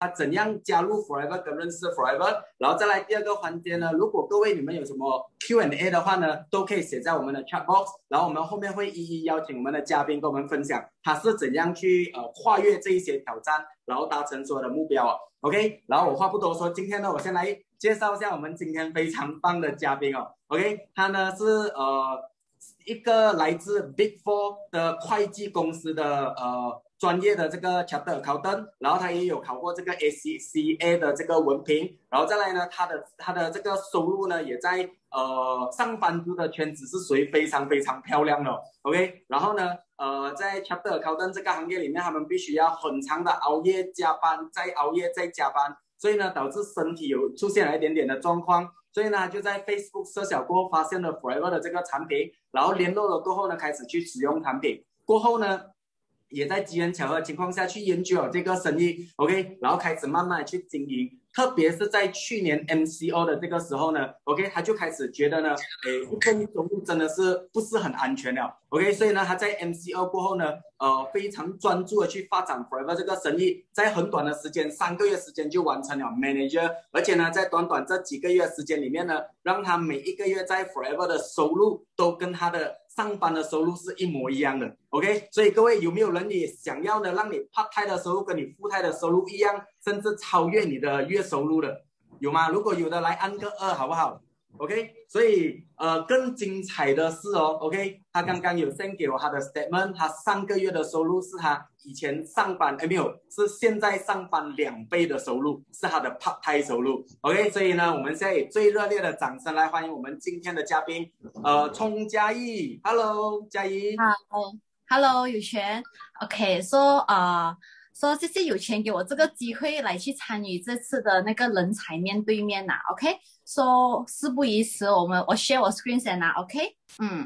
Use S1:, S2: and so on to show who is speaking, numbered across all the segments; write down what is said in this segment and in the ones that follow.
S1: 他怎样加入 Forever 跟认识 Forever， 然后再来第二个环节呢，如果各位你们有什么 Q&A 的话呢，都可以写在我们的 chat box， 然后我们后面会一一邀请我们的嘉宾跟我们分享他是怎样去跨越这一些挑战，然后达成所有的目标哦。OK， 然后我话不多说，今天呢，我先来介绍一下我们今天非常棒的嘉宾哦。OK， 他呢是一个来自 Big Four 的会计公司的专业的这个 Chartered Accountant， 然后他也有考过这个 ACCA 的这个文凭，然后再来呢，他的这个收入呢，也在上班族的圈子是属于非常非常漂亮的 ，OK， 然后呢，在 Chartered Accountant 这个行业里面，他们必须要很长的熬夜加班，再熬夜再加班，所以呢，导致身体有出现了一点点的状况。所以呢，就在 Facebook 设小过后发现了 Forever 的这个产品，然后联络了过后呢，开始去使用产品。过后呢，也在机缘巧合的情况下去研究了这个生意 ，OK， 然后开始慢慢的去经营。特别是在去年 MCO 的这个时候呢 ，OK， 他就开始觉得呢，一份收入真的是不是很安全了 ，OK， 所以呢，他在 MCO 过后呢，非常专注的去发展 Forever 这个生意，在很短的时间，3个月时间就完成了 Manager， 而且呢，在短短这几个月时间里面呢，让他每一个月在 Forever 的收入都跟他的上班的收入是一模一样的 ，OK， 所以各位有没有人也想要呢，让你 part time 的收入跟你 full time 的收入一样，甚至超越你的月收入的，有吗？如果有的来按个2好不好 ？OK， 所以更精彩的是哦 ，OK， 他刚刚有 send 给我他的 statement， 他上个月的收入是他以前上班没有，是现在上班2倍的收入，是他的 part time 收入 ，OK， 所以呢，我们现在以最热烈的掌声来欢迎我们今天的嘉宾，冲嘉义 ，Hello， 嘉义
S2: ，Hello， 有权 ，OK， 说谢谢有权给我这个机会来去参与这次的那个人才面对面呐 ，OK， 说事不宜迟，我 share 我 screen 先啦 ，OK，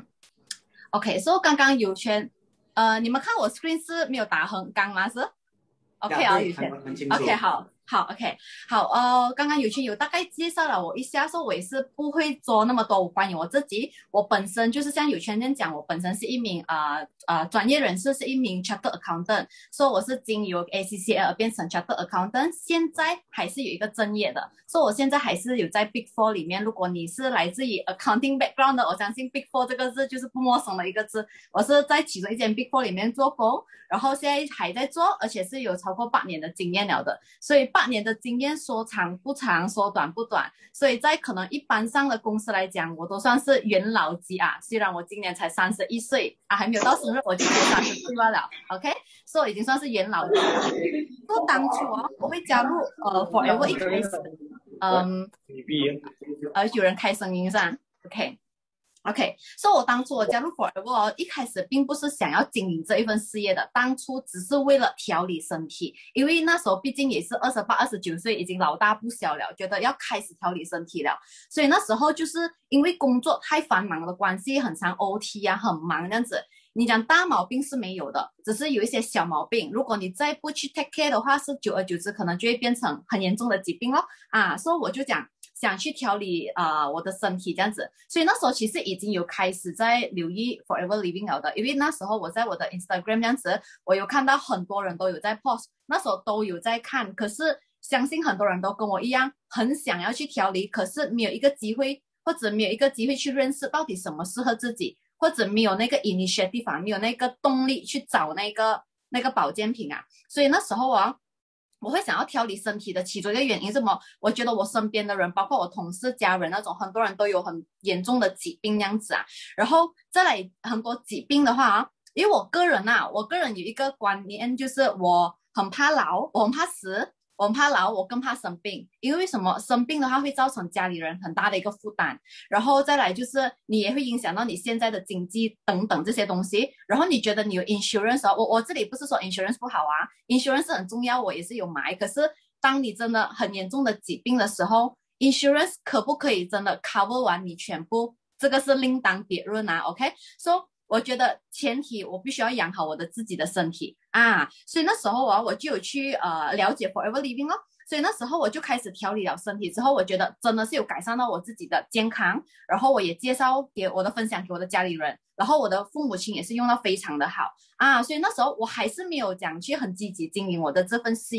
S2: OK， 说刚刚有权，你们看我 screen 是没有打横杠吗？是 ？OK 啊，有权 ，OK 好 ，OK， 好，刚刚有权有大概介绍了我一下，说我也是不会做那么多关于我自己，我本身就是像有权这样讲，我本身是一名专业人士，是一名 Chartered Accountant， 说我是经由 ACCA 而变成 Chartered Accountant， 现在还是有一个正业的，说我现在还是有在 Big Four 里面，如果你是来自于 Accounting background 的，我相信 Big Four 这个字就是不陌生的一个字，我是在其中一间 Big Four 里面做工，然后现在还在做，而且是有超过8年的经验了的，所以8年的经验说长不长，说短不短，所以在可能一般上的公司来讲，我都算是元老级啊。虽然我今年才31岁啊，还没有到生日我就30岁罢了 ，OK， 所以已经算是元老级。说当初我会加入Forever 一开始，有人开声音上 ，OK， 所以我当初我加入 Forever 一开始并不是想要经营这一份事业的，当初只是为了调理身体，因为那时候毕竟也是28、29岁，已经老大不小了，觉得要开始调理身体了，所以那时候就是因为工作太繁忙的关系，很常 OT 啊，很忙这样子。你讲大毛病是没有的，只是有一些小毛病，如果你再不去 take care 的话，是久而久之可能就会变成很严重的疾病咯啊，所以我就讲想去调理我的身体这样子，所以那时候其实已经有开始在留意 Forever Living 了的，因为那时候我在我的 Instagram 这样子，我有看到很多人都有在 post， 那时候都有在看，可是相信很多人都跟我一样，很想要去调理，可是没有一个机会，或者没有一个机会去认识到底什么适合自己，或者没有那个 initiative， 没有那个动力去找那个保健品啊，所以那时候我会想要调理身体的其中一个原因是什么？我觉得我身边的人，包括我同事、家人那种，很多人都有很严重的疾病这样子啊。然后再来很多疾病的话因为我个人有一个观念，就是我很怕老，我很怕死，我很怕老，我更怕生病。因为什么？生病的话会造成家里人很大的一个负担，然后再来就是你也会影响到你现在的经济等等这些东西。然后你觉得你有 insurance 我这里不是说 insurance 不好啊 ，insurance 很重要，我也是有买。可是当你真的很严重的疾病的时候，insurance 可不可以真的 cover 完你全部？这个是另当别论啊 ，OK？So 我觉得前提我必须要养好我的自己的身体啊，所以那时候我就有去了解 Forever Living 哦，所以那时候我就开始调理了身体之后，我觉得真的是有改善到我自己的健康，然后我也介绍给我的分享给我的家里人，然后我的父母亲也是用到非常的好啊，所以那时候我还是没有讲去很积极经营我的这份事业。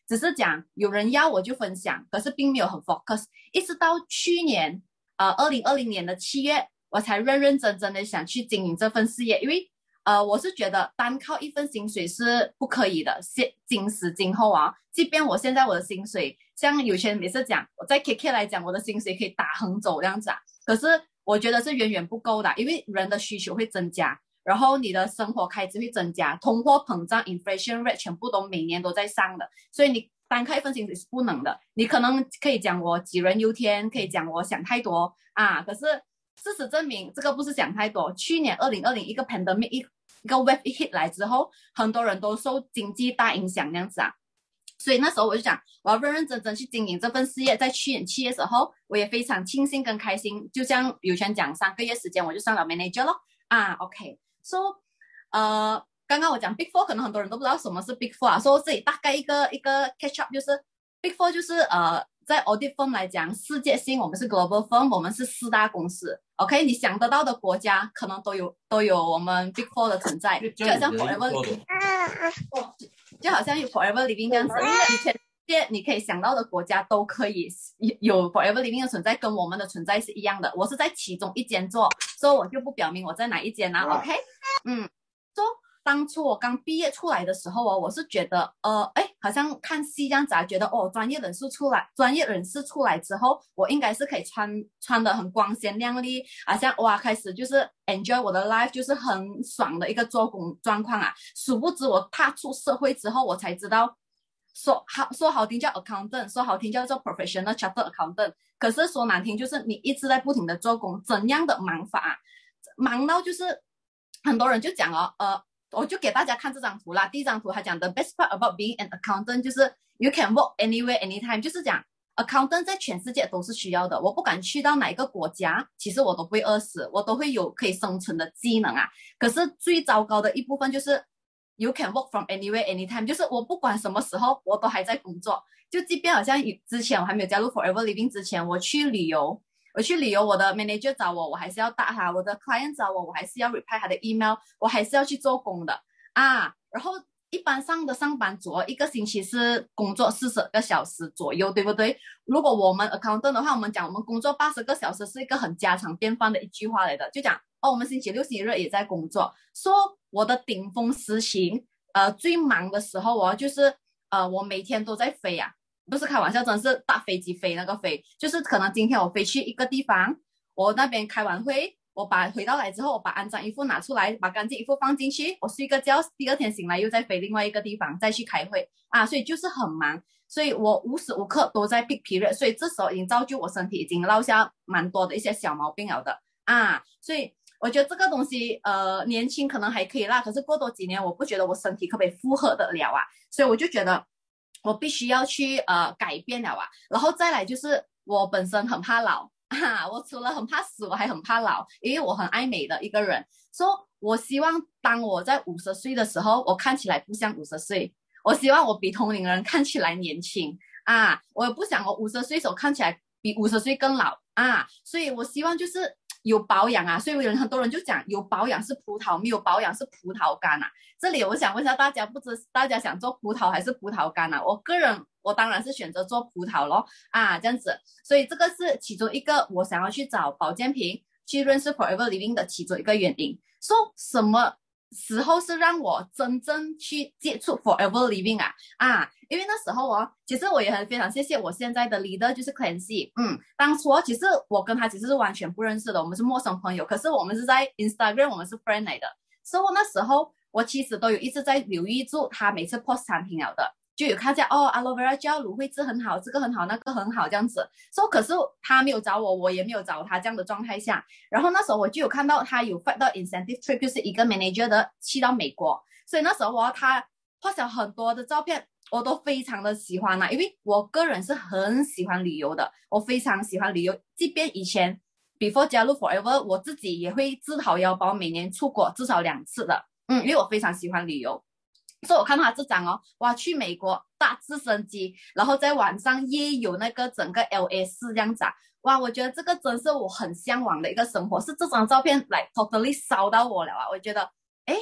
S2: 只是讲有人要我就分享，可是并没有很 focus。一直到去年2020年的7月，我才认认真真的想去经营这份事业，因为我是觉得单靠一份薪水是不可以的，今时今后啊，即便我现在我的薪水，像有些人每次讲我在 KK 来讲，我的薪水可以打横走这样子啊，可是我觉得是远远不够的，因为人的需求会增加，然后你的生活开支会增加，通货膨胀 inflation rate 全部都每年都在上的，所以你单靠一份薪水是不能的。你可能可以讲我杞人忧天，可以讲我想太多啊，可是事实证明这个不是想太多。去年2020一个 pandemic 一个 wave 一 hit 来之后，很多人都受经济大影响那样子啊，所以那时候我就讲我要认认真真去经营这份事业。在去年7月的时候，我也非常庆幸跟开心，就像有权讲3个月时间我就上了 manager 咯啊 OK so 刚刚我讲 Big Four， 可能很多人都不知道什么是 Big Four 啊，所以这里大概一个 catch up， 就是 Big Four 就是在 audit firm 来讲，世界性我们是 global firm， 我们是4大公司 OK， 你想得到的国家可能都有我们 Big Four 的存在，就好像 Forever Living 就好像有 Forever Living 这样子，你全世界你可以想到的国家都可以有 Forever Living 的存在，跟我们的存在是一样的。我是在其中一间做，所以我就不表明我在哪一间啦 OK 说当初我刚毕业出来的时候我是觉得好像看戏这样子啊，觉得专业人士出来之后，我应该是可以穿得很光鲜亮丽，好像哇开始就是 enjoy 我的 life， 就是很爽的一个做工状况啊。殊不知我踏出社会之后，我才知道说好听叫 accountant， 说好听叫做 professional chartered accountant， 可是说难听就是你一直在不停的做工，怎样的忙法啊，忙到就是很多人就讲我就给大家看这张图啦。第一张图他讲的 best part about being an accountant 就是 you can work anywhere anytime， 就是讲 accountant 在全世界都是需要的，我不管去到哪一个国家，其实我都不会饿死，我都会有可以生存的技能啊。可是最糟糕的一部分就是 you can work from anywhere anytime， 就是我不管什么时候我都还在工作，就即便好像之前我还没有加入 Forever Living 之前，我去旅游，我的 manager 找我还是要打他，我的 client 找我还是要 reply 他的 email， 我还是要去做工的啊。然后一般上的上班族一个星期是工作40个小时左右，对不对？如果我们 accountant 的话，我们讲我们工作80个小时是一个很家常便饭的一句话来的，就讲我们星期六星期日也在工作。说我的顶峰时期最忙的时候就是我每天都在飞啊，不是开玩笑，真的是大飞机飞那个飞，就是可能今天我飞去一个地方，我那边开完会，我回到来之后，我把肮脏衣服拿出来，把干净衣服放进去，我睡个觉，第二天醒来又再飞另外一个地方再去开会啊，所以就是很忙，所以我无时无刻都在 peak period， 所以这时候已经造就我身体已经落下蛮多的一些小毛病了的啊，所以我觉得这个东西年轻可能还可以啦，可是过多几年我不觉得我身体可不可以负荷得了啊，所以我就觉得我必须要去改变了啊。然后再来就是我本身很怕老我除了很怕死我还很怕老，因为我很爱美的一个人，所以我希望当我在50岁的时候我看起来不像50岁，我希望我比同龄人看起来年轻啊，我也不想我50岁的时候看起来比50岁更老啊，所以我希望就是有保养啊，所以很多人就讲有保养是葡萄，没有保养是葡萄干啊。这里我想问一下大家，不知大家想做葡萄还是葡萄干啊？我个人我当然是选择做葡萄咯啊，这样子，所以这个是其中一个我想要去找保健品去认识 Forever Living 的其中一个原因。说什么时候是让我真正去接触 Forever Living 因为那时候其实我也非常谢谢我现在的 leader 就是 Clancy， 当初其实我跟他其实是完全不认识的，我们是陌生朋友，可是我们是在 Instagram 我们是 friend 来的，所以那时候我其实都有一直在留意住他每次 post 产品了的，就有看见Aloe Vera Gel 芦荟汁很好，这个很好那个很好这样子，可是他没有找我，我也没有找他这样的状态下，然后那时候我就有看到他有发到 incentive trip， 就是一个 manager 的去到美国，所以那时候他post了很多的照片，我都非常的喜欢因为我个人是很喜欢旅游的，我非常喜欢旅游，即便以前 before 加入 Forever 我自己也会自掏腰包每年出国至少2次的，因为我非常喜欢旅游，所以我看到他这张去美国搭直升机，然后在晚上夜游那个整个 LA4 这样子我觉得这个真是我很向往的一个生活，是这张照片来 totally 烧到我了我觉得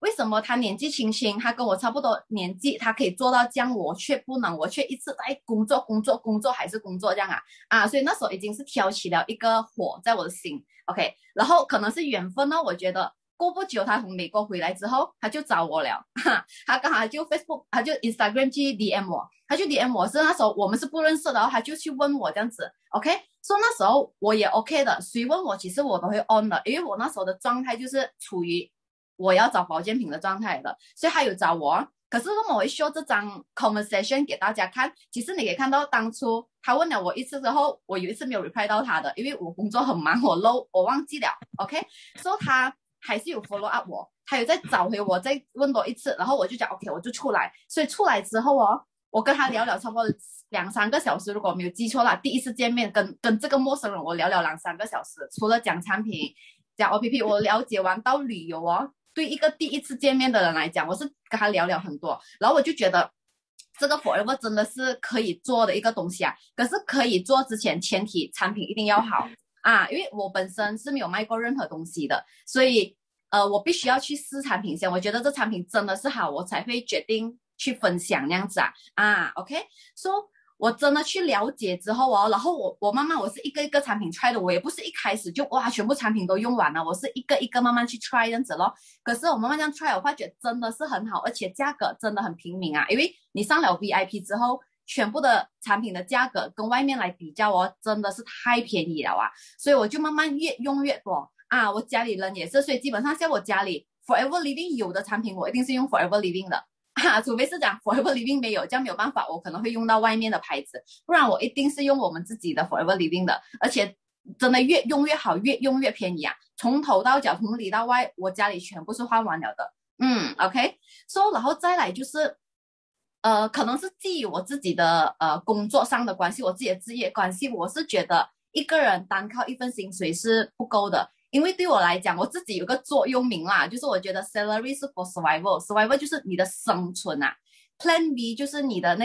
S2: 为什么他年纪轻轻，他跟我差不多年纪，他可以做到这样，我却不能，我却一直在工作还是工作这样所以那时候已经是挑起了一个火在我的心 ，OK， 然后可能是缘分呢，我觉得过不久他从美国回来之后，他就找我了，他刚好就 Facebook， 他就 Instagram 去 DM 我，他就 DM 我是那时候我们是不认识的，然后他就去问我这样子 ，OK， 所以那时候我也 OK 的，谁问我其实我都会 on 的，因为我那时候的状态就是处于我要找保健品的状态的，所以他有找我。可是我会 show 这张 conversation 给大家看，其实你可以看到当初他问了我一次之后，我有一次没有 reply 到他的，因为我工作很忙，我忘记了 ，OK， 所以他还是有 follow up 我，他有再找回我，再问多一次，然后我就讲 OK， 我就出来，所以出来之后我跟他聊差不多2-3个小时，如果我没有记错啦，第一次见面跟这个陌生人我聊2-3个小时，除了讲产品讲 OPP， 我了解完到旅游对一个第一次见面的人来讲，我是跟他聊很多，然后我就觉得这个 Forever 真的是可以做的一个东西可是可以做之前前提产品一定要好因为我本身是没有卖过任何东西的，所以我必须要去试产品先，我觉得这产品真的是好，我才会决定去分享那样子OK， so我真的去了解之后然后我慢慢我是一个一个产品 try 的，我也不是一开始就全部产品都用完了，我是一个一个慢慢去 try 这样子咯。可是我慢慢这样 try， 我发觉真的是很好，而且价格真的很平民因为你上了 VIP 之后，全部的产品的价格跟外面来比较真的是太便宜了所以我就慢慢越用越多我家里人也是，所以基本上像我家里 Forever Living 有的产品，我一定是用 Forever Living 的。除非是讲 Forever Living 没有，这样没有办法，我可能会用到外面的牌子，不然我一定是用我们自己的 Forever Living 的，而且真的越用越好，越用越便宜从头到脚，从里到外，我家里全部是换完了的。OK， so 然后再来就是可能是基于我自己的工作上的关系，我自己的职业关系，我是觉得一个人单靠一份薪水是不够的。因为对我来讲，我自己有个座右铭啦，就是我觉得 salary 是 for survival 就是你的生存Plan B 就是你的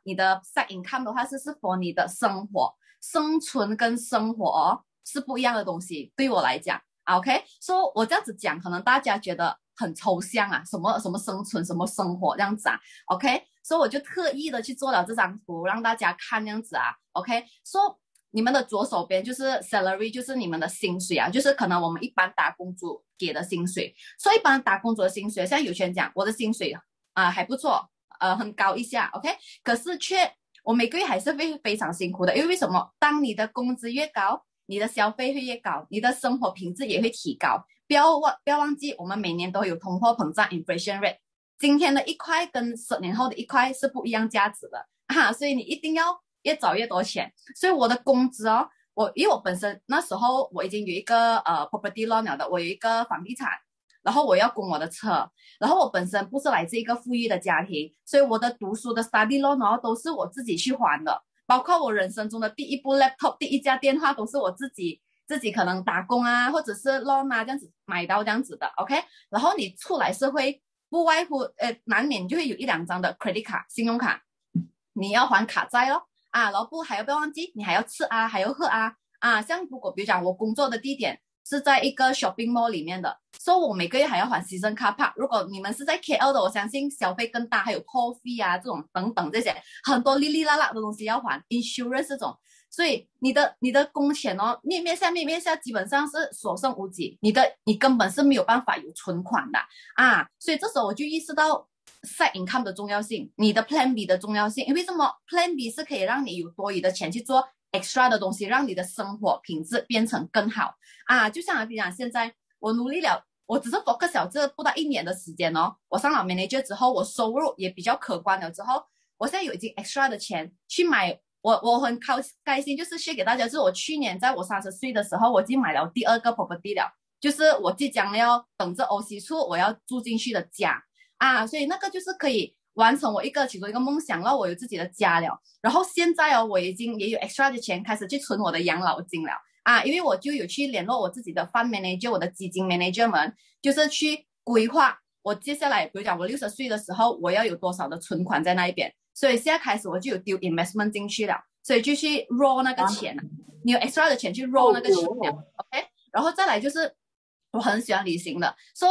S2: side income 的话是 for 你的生活，生存跟生活是不一样的东西，对我来讲OK， 所以我这样子讲，可能大家觉得很抽象什么什么生存，什么生活这样子OK， 所以我就特意的去做了这张图，让大家看这样子OK， 所以你们的左手边就是 salary， 就是你们的薪水就是可能我们一般打工族给的薪水。所以一般打工族的薪水，像有些人讲我的薪水还不错，很高一下 OK， 可是我每个月还是会非常辛苦的，因为什么？当你的工资越高，你的消费会越高，你的生活品质也会提高。不要忘记，我们每年都有通货膨胀 inflation rate， 今天的1块跟10年后的1块是不一样价值的所以你一定要越找越多钱。所以我的工资因为我本身那时候我已经有一个property loan 了的，我有一个房地产，然后我要供我的车，然后我本身不是来自一个富裕的家庭，所以我的读书的 study loan 都是我自己去还的，包括我人生中的第一部 laptop， 第一家电话都是我自己可能打工或者是 loan 这样子买到这样子的 OK。 然后你出来社会不外乎难免就会有1-2张的 credit 卡信用卡，你要还卡债咯然后不还要不要忘记你还要吃还要喝像如果比如讲我工作的地点是在一个 shopping mall 里面的，所以我每个月还要还 season car park。如果你们是在 KL 的，我相信消费更大，还有 toll fee 这种等等这些很多哩哩啦啦的东西要还 ，insurance 这种，所以你的工钱面面下基本上是所剩无几，你根本是没有办法有存款的所以这时候我就意识到side income 的重要性，你的 Plan B 的重要性，因为什么 Plan B 是可以让你有多余的钱去做 extra 的东西，让你的生活品质变成更好就像比如讲现在我努力了，我只是 focus 了这不到1年的时间我上了 manager 之后，我收入也比较可观了之后，我现在有已经 extra 的钱去买我很开心，就是 share 给大家，就是我去年在我30岁的时候，我已经买了第2个 property 了，就是我即将要等着 OC 处我要住进去的家所以那个就是可以完成我其中一个梦想，让我有自己的家了。然后现在我已经也有 extra 的钱开始去存我的养老金了因为我就有去联络我自己的 fund manager， 我的基金 manager 们，就是去规划我接下来，比如讲我60岁的时候我要有多少的存款在那一边，所以现在开始我就有丢 investment 进去了，所以就去 roll 那个钱你有 extra 的钱去 roll 那个钱了OK。 然后再来就是我很喜欢旅行的，so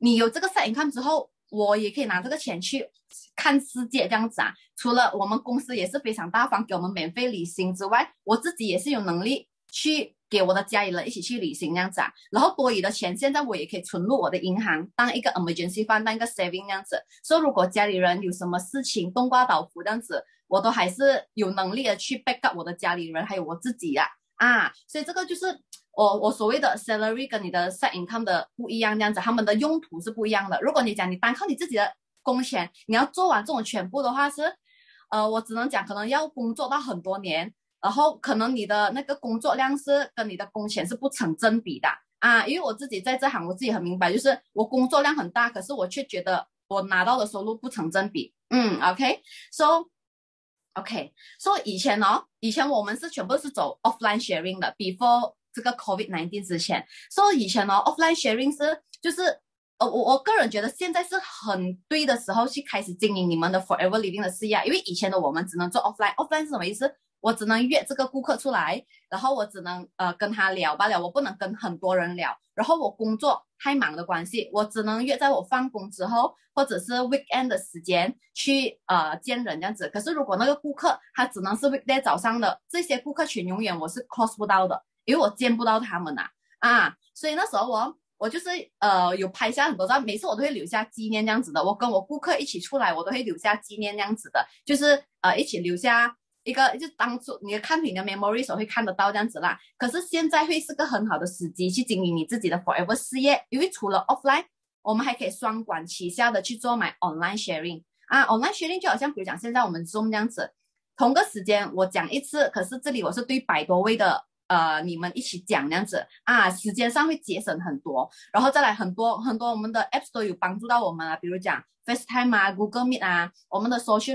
S2: 你有这个 side income 之后，我也可以拿这个钱去看世界这样子啊。除了我们公司也是非常大方给我们免费旅行之外，我自己也是有能力去给我的家里人一起去旅行这样子啊。然后多余的钱现在我也可以存入我的银行，当一个 emergency fund， 当一个 saving 这样子。所以如果家里人有什么事情冬瓜倒伏这样子，我都还是有能力的去 back up 我的家里人还有我自己啊。所以这个就是我所谓的 salary 跟你的 side income 的不一样，这样子，他们的用途是不一样的。如果你讲你单靠你自己的工钱，你要做完这种全部的话是，我只能讲可能要工作到很多年，然后可能你的那个工作量是跟你的工钱是不成正比的啊。因为我自己在这行，我自己很明白，就是我工作量很大，可是我却觉得我拿到的收入不成正比。OK，so 以前我们是全部是走 offline sharing 的 ，before 这个 COVID-19 之前，所以以前offline sharing 是就是我个人觉得现在是很对的时候去开始经营你们的 Forever Living 的事业，因为以前的我们只能做 offline 是什么意思？我只能约这个顾客出来，然后我只能跟他聊罢了，我不能跟很多人聊。然后我工作太忙的关系，我只能约在我放工之后或者是 weekend 的时间去见人这样子。可是如果那个顾客他只能是 weekday 早上的，这些顾客群永远我是 cross 不到的，因为我见不到他们所以那时候我就是有拍下很多照，每次我都会留下纪念这样子的。我跟我顾客一起出来，我都会留下纪念这样子的，就是一起留下一个，就当初你看你的 memory 时候会看得到这样子啦。可是现在会是个很好的时机去经营你自己的 forever 事业，因为除了 offline， 我们还可以双管齐下的去做买 online sharing online sharing 就好像比如讲现在我们 Zoom 这样子，同个时间我讲一次，可是这里我是对100多位的你们一起讲这样子时间上会节省很多。然后再来很多我们的 apps 都有帮助到我们比如讲 FaceTime Google Meet 我们的 social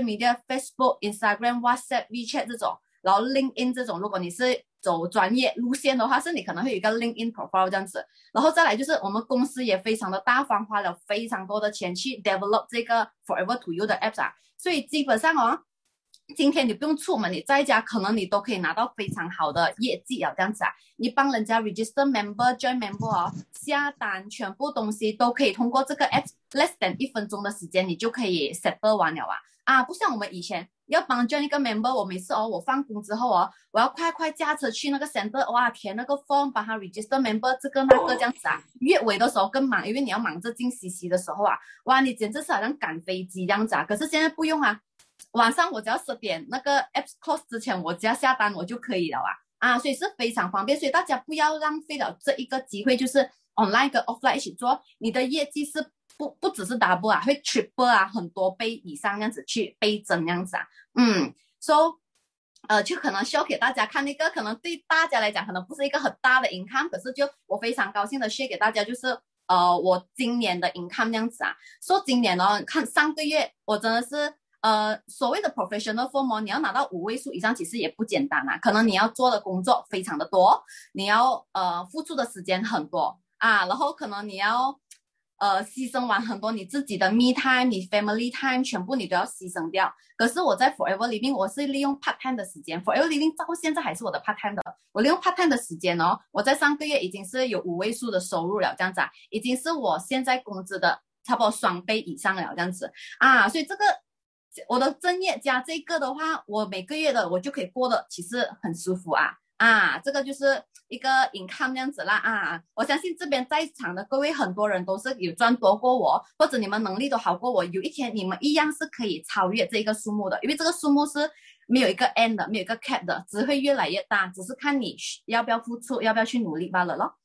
S2: media，Facebook、Instagram、WhatsApp、WeChat 这种，然后 LinkedIn 这种，如果你是走专业路线的话，是你可能会有一个 LinkedIn profile 这样子。然后再来就是我们公司也非常的大方，花了非常多的钱去 develop 这个 Forever to You 的 apps 所以基本上今天你不用出门，你在家可能你都可以拿到非常好的业绩这样子你帮人家 register member、join member 下单，全部东西都可以通过这个 app less than 1分钟的时间，你就可以 settle 完了不像我们以前要帮 join 一个 member， 我每次我放工之后我要快驾车去那个 center， 填那个 form， 帮他 register member 这个那个这样子月尾的时候更忙，因为你要忙着进CC的时候哇，你简直是好像赶飞机这样子可是现在不用晚上我只要10点那个 apps close 之前，我只要下单我就可以了所以是非常方便。所以大家不要浪费了这一个机会，就是 online 跟 offline 一起做，你的业绩是不只是 double 会 triple 很多倍以上这样子去倍增这样子so 就可能 show 给大家看那个，可能对大家来讲可能不是一个很大的 income， 可是就我非常高兴的 share 给大家，就是我今年的 income 这样子说今年看上个月我真的是所谓的 professional form 你要拿到5位数以上，其实也不简单可能你要做的工作非常的多，你要付出的时间很多然后可能你要牺牲完很多你自己的 me time， 你 family time 全部你都要牺牲掉。可是我在 Forever Living 我是利用 part time 的时间， Forever Living 到现在还是我的 part time 的，我利用 part time 的时间我在上个月已经是有5位数的收入了这样子已经是我现在工资的差不多2倍以上了这样子所以这个我的正业加这个的话，我每个月的我就可以过得其实很舒服这个就是一个 income 这样子啦我相信这边在场的各位很多人都是有赚多过我，或者你们能力都好过我，有一天你们一样是可以超越这个数目的，因为这个数目是没有一个 end 的，没有一个 cap 的，只会越来越大，只是看你要不要付出，要不要去努力罢了咯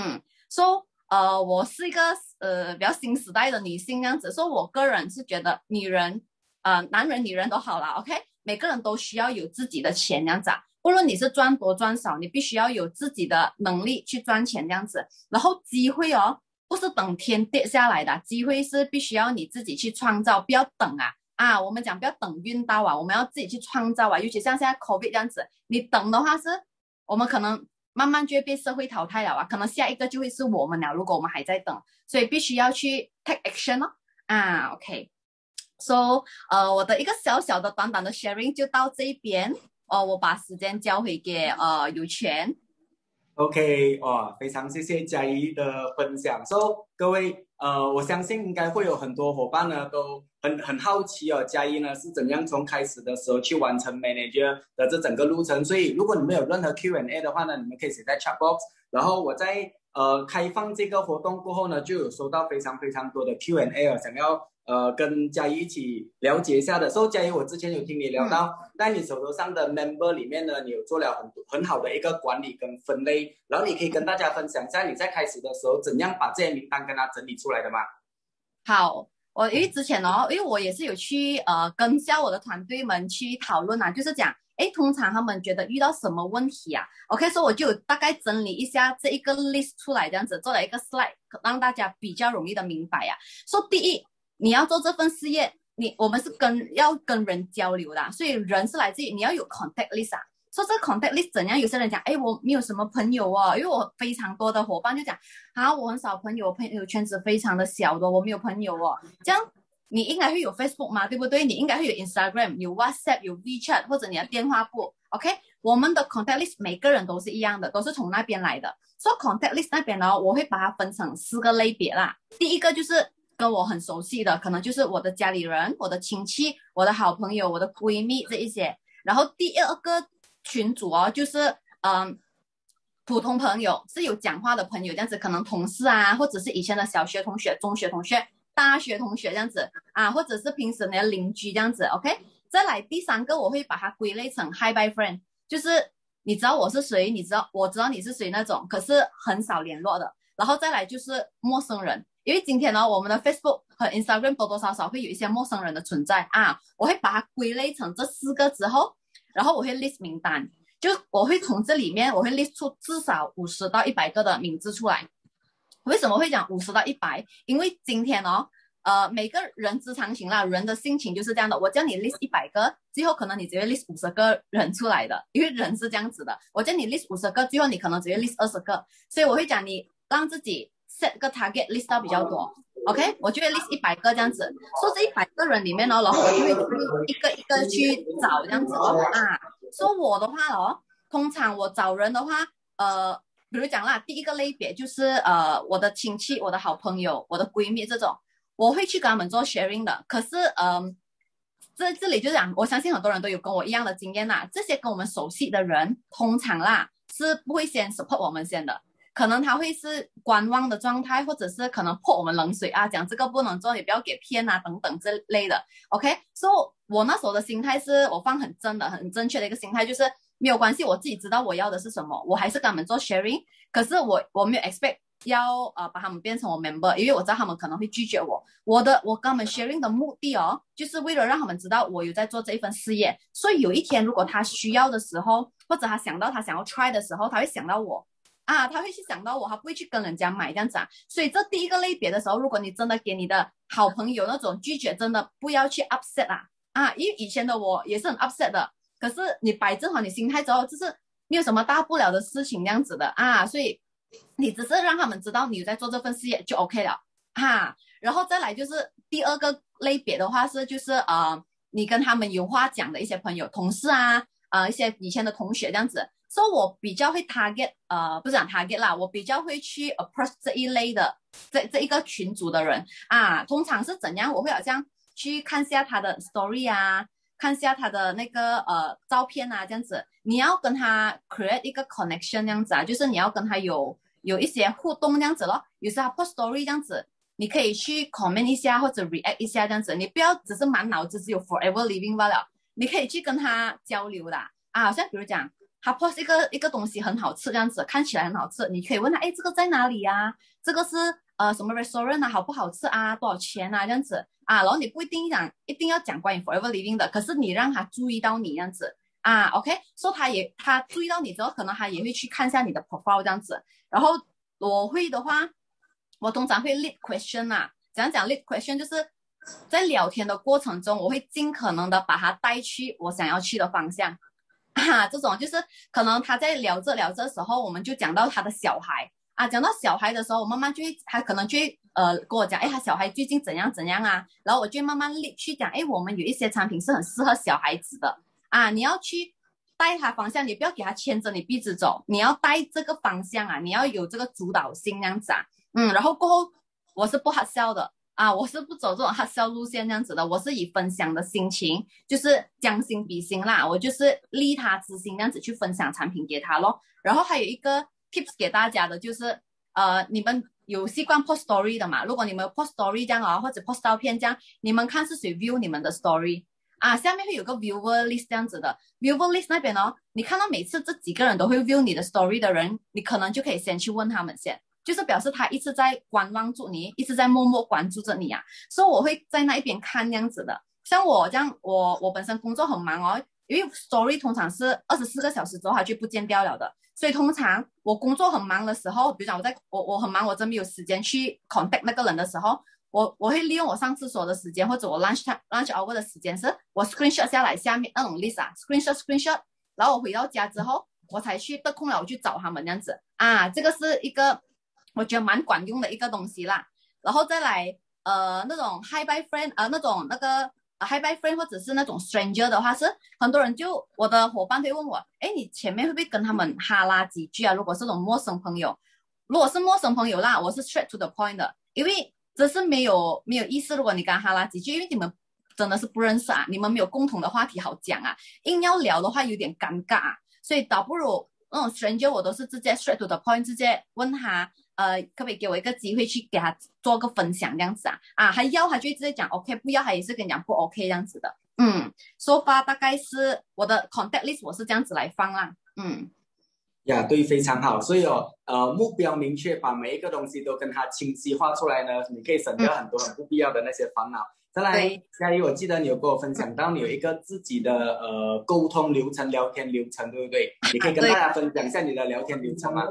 S2: so 我是一个比较新时代的女性这样子，所以我个人是觉得女人男人女人都好啦 OK， 每个人都需要有自己的钱这样子不论你是赚多赚少，你必须要有自己的能力去赚钱这样子。然后机会不是等天跌下来的，机会是必须要你自己去创造，不要等我们讲不要等运到我们要自己去创造尤其像现在 COVID 这样子，你等的话是我们可能慢慢就会被社会淘汰了可能下一个就会是我们了，如果我们还在等，所以必须要去 take action OK So 我的一个小小的短短的 sharing 就到这边我把时间交回给有权。
S1: OK，非常谢谢嘉怡的分享。各位我相信应该会有很多伙伴呢都很好奇哦，嘉一呢是怎样从开始的时候去完成 manager 的这整个路程。所以如果你们有任何 Q&A 的话呢，你们可以写在 chat box，然后我在开放这个活动过后呢，就有收到非常非常多的 Q&A 哦，想要跟嘉怡一起了解一下的。所以嘉怡，我之前有听你聊到，在你手头上的 member 里面呢，你有做了很好的一个管理跟分类，然后你可以跟大家分享一下你在开始的时候怎样把这些名单跟他整理出来的吗？
S2: 好，我因为之前因为我也是有去跟下我的团队们去讨论啊，就是讲，诶，通常他们觉得遇到什么问题啊？OK，所以我就有大概整理一下这一个 list 出来，这样子做了一个 slide，让大家比较容易的明白呀。说第一，你要做这份事业，我们是要跟人交流的，所以人是来自于你要有 contact list 啊。说这个 contact list 怎样？有些人讲，哎，我没有什么朋友哦，因为我非常多的伙伴就讲，啊，我很少朋友，朋友圈子非常的小的，我没有朋友哦。这样你应该会有 Facebook 嘛，对不对？你应该会有 Instagram，有 WhatsApp，有 WeChat，或者你的电话簿。OK，我们的 contact list 每个人都是一样的，都是从那边来的。所以 contact list 那边呢，我会把它分成4个类别啦。第一个就是跟我很熟悉的，可能就是我的家里人、我的亲戚、我的好朋友、我的闺蜜这一些。然后第二个群组就是普通朋友，是有讲话的朋友，这样子可能同事啊，或者是以前的小学同学、中学同学、大学同学这样子啊，或者是平时的邻居这样子。OK， 再来第3个，我会把它归类成 Hi Bye Friend， 就是你知道我是谁，我知道你是谁那种，可是很少联络的。然后再来就是陌生人，因为今天呢，我们的 Facebook 和 Instagram 多多少少会有一些陌生人的存在啊，我会把它归类成这4个之后。然后我会 list 名单，就我会从这里面我会 list 出至少50到100个的名字出来。为什么会讲50到100？因为今天每个人之常情啦，人的性情就是这样的。我叫你 list 100个，最后可能你只会 list 50个人出来的，因为人是这样子的。我叫你 list 50个，最后你可能只会 list 20个，所以我会讲你让自己 set 个 target list 到比较多。OK， 我就会 list 100个这样子，说这100个人里面然后我就会一个一个去找这样子啊。说我的话通常我找人的话，比如讲啦，第一个类别就是我的亲戚、我的好朋友、我的闺蜜这种，我会去跟他们做 sharing 的。可是这里就讲，我相信很多人都有跟我一样的经验啦，这些跟我们熟悉的人，通常啦是不会先 support 我们先的。可能他会是观望的状态，或者是可能泼我们冷水啊，讲这个不能做，你不要给骗啊等等之类的。OK， 所以我那时候的心态是我放很真的、很正确的一个心态，就是没有关系，我自己知道我要的是什么，我还是跟他们做 sharing。可是我没有 expect 要把他们变成我 member， 因为我知道他们可能会拒绝我。我跟他们 sharing 的目的就是为了让他们知道我有在做这一份事业。所以有一天如果他需要的时候，或者他想到他想要 try 的时候，他会想到我。啊，他会去想到我，他不会去跟人家买这样子啊。所以这第一个类别的时候，如果你真的给你的好朋友那种拒绝，真的不要去 upset 啊，因为以前的我也是很 upset 的。可是你摆正好你心态之后，就是没有什么大不了的事情这样子的啊。所以你只是让他们知道你有在做这份事业就 OK 了啊。然后再来就是第二个类别的话是就是你跟他们有话讲的一些朋友、同事啊，一些以前的同学这样子。所以我比较会 target， 不是讲 target 啦，我比较会去 approach 这一类的这一个群组的人啊。通常是怎样？我会好像去看下他的 story 啊，看下他的那个照片啊，这样子。你要跟他 create 一个 connection 这样子啊，就是你要跟他有一些互动这样子咯。有时候他 post story 这样子，你可以去 comment 一下或者 react 一下这样子。你不要只是满脑子只有 forever living 罢了，你可以去跟他交流的啊。像比如讲。他 post 一个东西很好吃，这样子看起来很好吃，你可以问他，哎，这个在哪里啊？这个是什么 restaurant 啊？好不好吃啊？多少钱啊？这样子啊，然后你不一定要讲关于 forever living 的，可是你让他注意到你这样子啊 ，OK， 所以他注意到你之后，可能他也会去看一下你的 profile 这样子。然后我会的话，我通常会 lead question 啊，怎样讲 lead question 就是在聊天的过程中，我会尽可能的把他带去我想要去的方向。这种就是可能他在聊着的时候，我们就讲到他的小孩啊，讲到小孩的时候，我慢慢他可能就会跟我讲，哎，他小孩最近怎样怎样啊，然后我就慢慢去讲，哎，我们有一些产品是很适合小孩子的啊，你要去带他方向，你不要给他牵着你鼻子走，你要带这个方向啊，你要有这个主导性这样子啊，然后过后我是不 hard sell 的我是不走这种 hard sell 路线这样子的，我是以分享的心情，就是将心比心啦，我就是利他之心这样子去分享产品给他咯。然后还有一个 tips 给大家的就是你们有习惯 post story 的嘛？如果你们有 post story 这样或者 post 照片这样，你们看是谁 view 你们的 story 下面会有个 viewer list 这样子的 viewer list 那边你看到每次这几个人都会 view 你的 story 的人，你可能就可以先去问他们先，就是表示他一直在观望住你，一直在默默关注着你所以我会在那一边看这样子的。像我这样，我本身工作很忙因为 story 通常是24个小时之后它就不见掉了的，所以通常我工作很忙的时候，比如讲我很忙，我真没有时间去 contact 那个人的时候，我会利用我上厕所的时间或者我 lunch hour 的时间，是我 screenshot 下来下面那种 list screenshot， 然后我回到家之后，我才去得空了我去找他们这样子这个是一个我觉得蛮管用的一个东西啦。然后再来那种 hi bye friend 那种那个hi bye friend 或者是那种 stranger 的话，是很多人就我的伙伴会问我，哎，你前面会不会跟他们哈拉几句啊？如果是那种陌生朋友，如果是陌生朋友啦，我是 straight to the point 的，因为这是没有意思。如果你跟他哈拉几句，因为你们真的是不认识你们没有共同的话题好讲硬要聊的话有点尴尬所以倒不如那种 stranger 我都是直接 straight to the point， 直接问他可不可以给我一个机会去给他做个分享这样子还要他就直接讲 OK， 不要他也是跟你讲不 OK 这样子的。so far 大概是我的 contact list 我是这样子来放啦。
S1: 对，非常好。所以目标明确，把每一个东西都跟它清晰化出来呢，你可以省掉很多很不必要的那些烦恼。再来，佳怡，我记得你有跟我分享到你有一个自己的沟通流程、聊天流程，对不对？你可以跟大家分享一下你的聊天流程吗？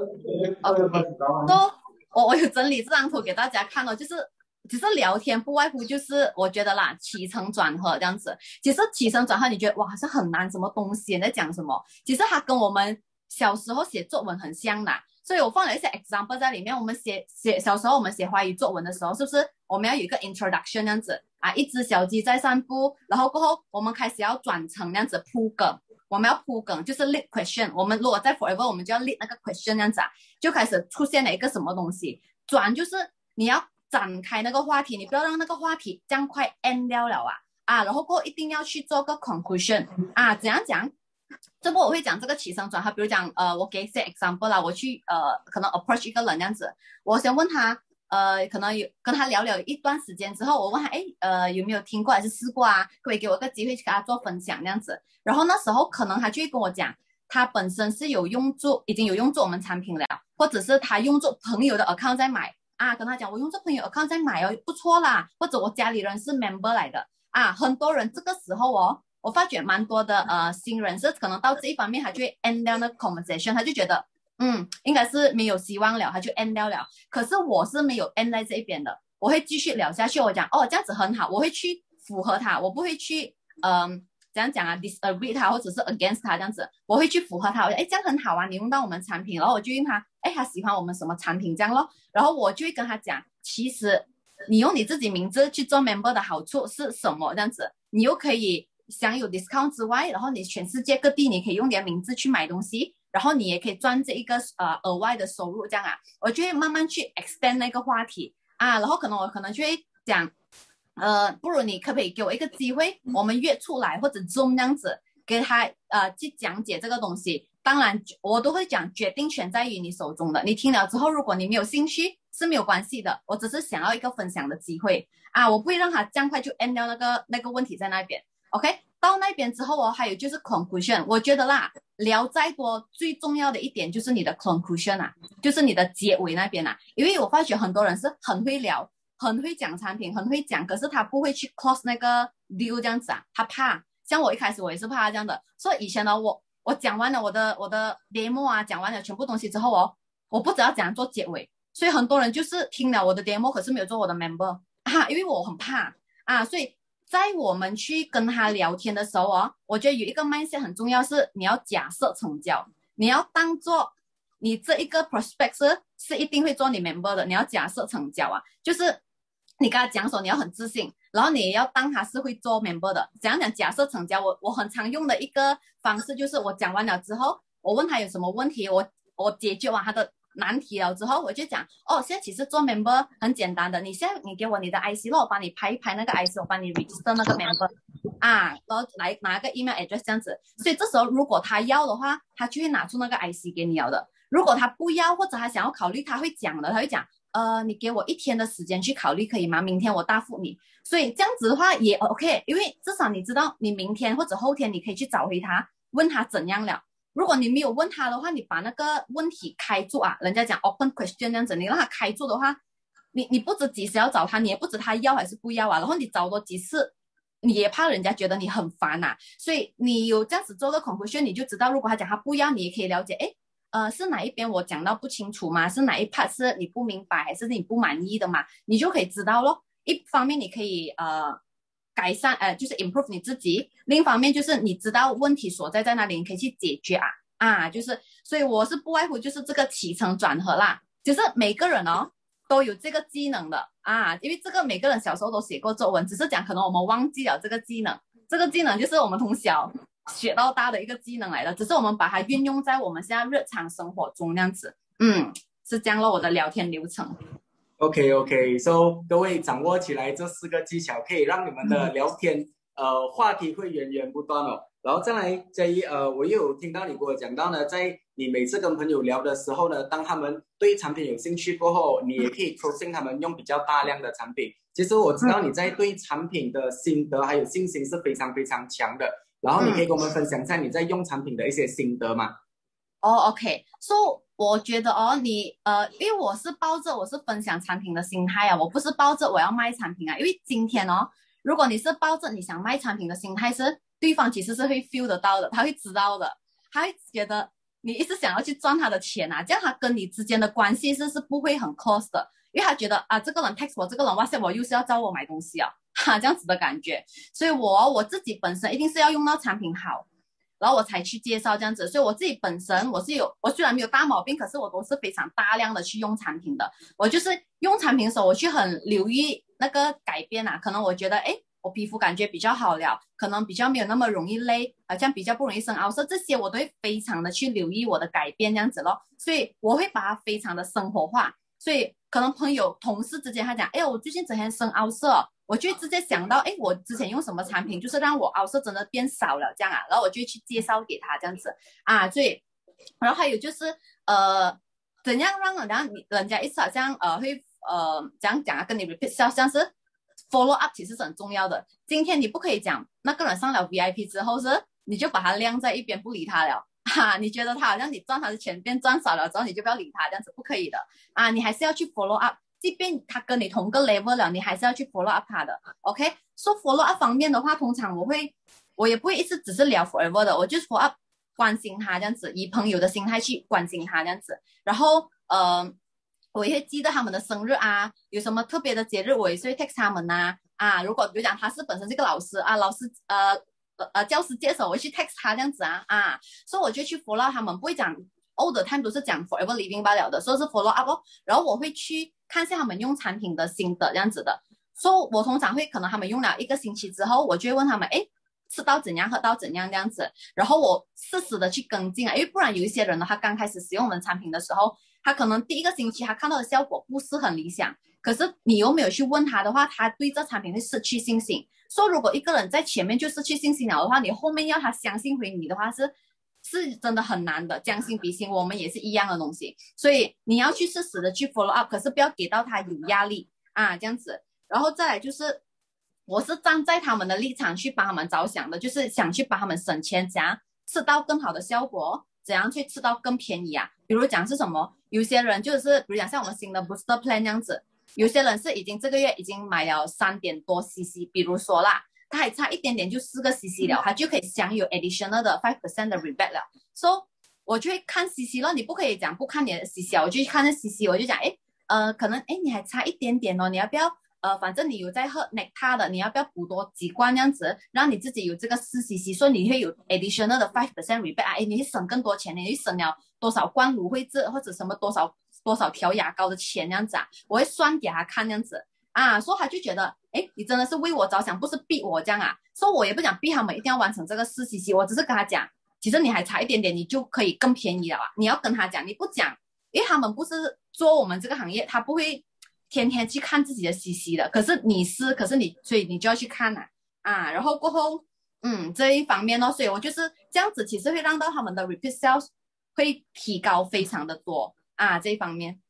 S2: 我有整理这张图给大家看就是其实聊天不外乎就是我觉得啦，起承转合这样子。其实起承转合你觉得哇好像很难，什么东西你在讲什么？其实它跟我们小时候写作文很像的，所以我放了一些 example 在里面。我们小时候我们写华语作文的时候，是不是我们要有一个 introduction 这样子一只小鸡在散步，然后过后我们开始要转成这样子铺梗，我们要铺梗就是 lead question， 我们如果在 forever 我们就要 lead 那个 question 这样子就开始出现了一个什么东西。转就是你要展开那个话题，你不要让那个话题这样快 end 掉了然后过后一定要去做个 conclusion 怎样讲？这不我会讲这个起承转合，比如讲我给一些 example 啦，我去可能 approach 一个人这样子，我先问他可能有跟他聊聊一段时间之后，我问他有没有听过还是试过可不可以给我一个机会去跟他做分享这样子。然后那时候可能他就会跟我讲他本身是已经有用做我们产品了，或者是他用做朋友的 account 在买跟他讲我用做朋友 account 在买不错啦，或者我家里人是 member 来的很多人这个时候我发觉蛮多的新人是可能到这一方面他就会 end 掉那个 conversation， 他就觉得应该是没有希望了，他就 end 掉了。可是我是没有 end 在这一边的，我会继续聊下去。我讲这样子很好，我会去符合他，我不会去怎样讲disagree 他或者是 against 他这样子，我会去符合他。我讲这样很好你用到我们产品，然后我就问他他喜欢我们什么产品这样咯，然后我就会跟他讲其实你用你自己名字去做 member 的好处是什么这样子，你又可以享有 discount 之外，然后你全世界各地你可以用你的名字去买东西，然后你也可以赚这一个额外的收入这样我就会慢慢去 extend 那个话题然后我可能就会讲不如你可不可以给我一个机会，我们约出来或者 Zoom 这样子给他去讲解这个东西。当然我都会讲决定权在于你手中的，你听了之后如果你没有兴趣是没有关系的，我只是想要一个分享的机会我不会让他这样快就 end 掉那个问题在那边。 OK， 到那边之后还有就是 conclusion， 我觉得啦聊再多最重要的一点就是你的 conclusion 就是你的结尾那边因为我发觉很多人是很会聊很会讲产品很会讲，可是他不会去 close 那个 deal 这样子他怕。像我一开始我也是怕这样的，所以以前呢我讲完了我的 demo 讲完了全部东西之后我不知道怎样做结尾，所以很多人就是听了我的 demo 可是没有做我的 member 因为我很怕所以在我们去跟他聊天的时候我觉得有一个 mindset 很重要，是你要假设成交，你要当做你这一个 prospect 是一定会做你 member 的，你要假设成交就是你跟他讲说你要很自信，然后你也要当他是会做 member 的。怎样讲假设成交，我很常用的一个方式就是我讲完了之后我问他有什么问题，我解决完他的难题了之后，我就讲哦，现在其实做 member 很简单的，你现在你给我你的 IC 咯，我帮你拍一拍那个 IC，我帮你 register 那个 member 啊，然后来拿个 email address 这样子。所以这时候如果他要的话，他就会拿出那个 IC 给你了的。如果他不要或者他想要考虑，他会讲的，他会讲你给我1天的时间去考虑可以吗？明天我答复你。所以这样子的话也 OK， 因为至少你知道你明天或者后天你可以去找回他，问他怎样了。如果你没有问他的话，你把那个问题开住啊，人家讲 open question 这样子，你让他开住的话，你不知几时要找他，你也不知他要还是不要啊，然后你找多几次，你也怕人家觉得你很烦啊，所以你有这样子做个 conclusion， 你就知道，如果他讲他不要，你也可以了解，是哪一边我讲到不清楚吗？是哪一 part 是你不明白还是你不满意的嘛？你就可以知道咯。一方面你可以改善就是 improve 你自己，另一方面就是你知道问题所在在哪里，你可以去解决就是所以我是不外乎就是这个起承转合啦，就是每个人都有这个技能的因为这个每个人小时候都写过作文，只是讲可能我们忘记了这个技能，这个技能就是我们从小学到大的一个技能来的，只是我们把它运用在我们现在日常生活中这样子，是这样了我的聊天流程。
S1: OK，so 各位掌握起来这4个技巧，可以让你们的聊天话题会源源不断哦。然后再来Jay，我又有听到你跟我讲到呢，在你每次跟朋友聊的时候呢，当他们对产品有兴趣过后，你也可以 promote 他们用比较大量的产品。其实我知道你在对产品的心得还有信心是非常非常强的，然后你可以跟我们分享一下你在用产品的一些心得吗
S2: ？OK，so 我觉得你因为我是抱着我是分享产品的心态我不是抱着我要卖产品因为今天如果你是抱着你想卖产品的心态，是对方其实是会 feel 得到的，他会知道的，他会觉得你一直想要去赚他的钱这样他跟你之间的关系是不会很 close 的，因为他觉得这个人 text 我，这个人 WhatsApp 我又是要找我买东西这样子的感觉，所以我自己本身一定是要用到产品好，然后我才去介绍这样子，所以我自己本身我虽然没有大毛病，可是我都是非常大量的去用产品的。我就是用产品的时候，我去很留意那个改变可能我觉得我皮肤感觉比较好了，可能比较没有那么容易累，好像比较不容易生凹色，这些我都会非常的去留意我的改变这样子咯。所以我会把它非常的生活化，所以可能朋友同事之间他讲我最近整天生凹色我就直接想到我之前用什么产品就是让我凹色真的变少了这样然后我就去介绍给他这样子所以然后还有就是怎样让人家一直好像会这样讲跟你 repeat 像是 follow up 其实是很重要的。今天你不可以讲那个人上了 VIP 之后你就把他晾在一边不理他了你觉得他好像你赚他的钱变赚少了之后你就不要理他，这样子不可以的你还是要去 follow up，即便他跟你同个 level 了，你还是要去 follow up 他的 OK。 说 follow up 方面的话，通常我也不会一直只是聊 forever 的，我就 follow up 关心他这样子，以朋友的心态去关心他这样子，然后我也会记得他们的生日有什么特别的节日我也是会 text 他们如果比如讲他是本身是个老师老师教师节的时候我会去 text 他这样子所以我就去 follow up 他们，不会讲 all the time 都是讲 forever living 罢了的，所以是 follow up然后我会去看一下他们用产品的心得这样子的，所以我通常会可能他们用了1个星期之后，我就会问他们吃到怎样喝到怎样这样子，然后我适时的去跟进因为不然有一些人呢，他刚开始使用我们产品的时候，他可能第1个星期他看到的效果不是很理想，可是你又没有去问他的话，他对这产品会失去信心。说如果一个人在前面就失去信心了的话，你后面要他相信回你的话是真的很难的，将心比心我们也是一样的东西，所以你要去适时的去 follow up， 可是不要给到他有压力这样子。然后再来就是我是站在他们的立场去帮他们着想的，就是想去帮他们省钱，怎样吃到更好的效果，怎样去吃到更便宜比如讲是什么，有些人就是比如讲像我们新的 booster plan 这样子，有些人是已经这个月已经买了3点多 cc， 比如说啦他还差一点点就4个 cc 了，他就可以享有 additional 的 5% 的 rebate 了。So 我就会看 cc 了，你不可以讲不看你的 cc 我就去看那 cc， 我就讲可能你还差一点点你要不要反正你有在喝 Nectar 的，你要不要补多几罐这样子，让你自己有这个4cc， 所以你会有 additional 的 5% rebate你会省更多钱，你会省了多少罐芦荟汁或者什么多少条牙膏的钱这样子我会算给他看这样子所以他就觉得你真的是为我着想，不是逼我这样所以我也不讲逼他们一定要完成这个4cc， 我只是跟他讲其实你还差一点点你就可以更便宜了你要跟他讲，你不讲因为他们不是做我们这个行业，他不会天天去看自己的 CC 的，可是你是，可是你所以你就要去看然后过后这一方面所以我就是这样子，其实会让到他们的 repeat sales 会提高非常的多这一方面。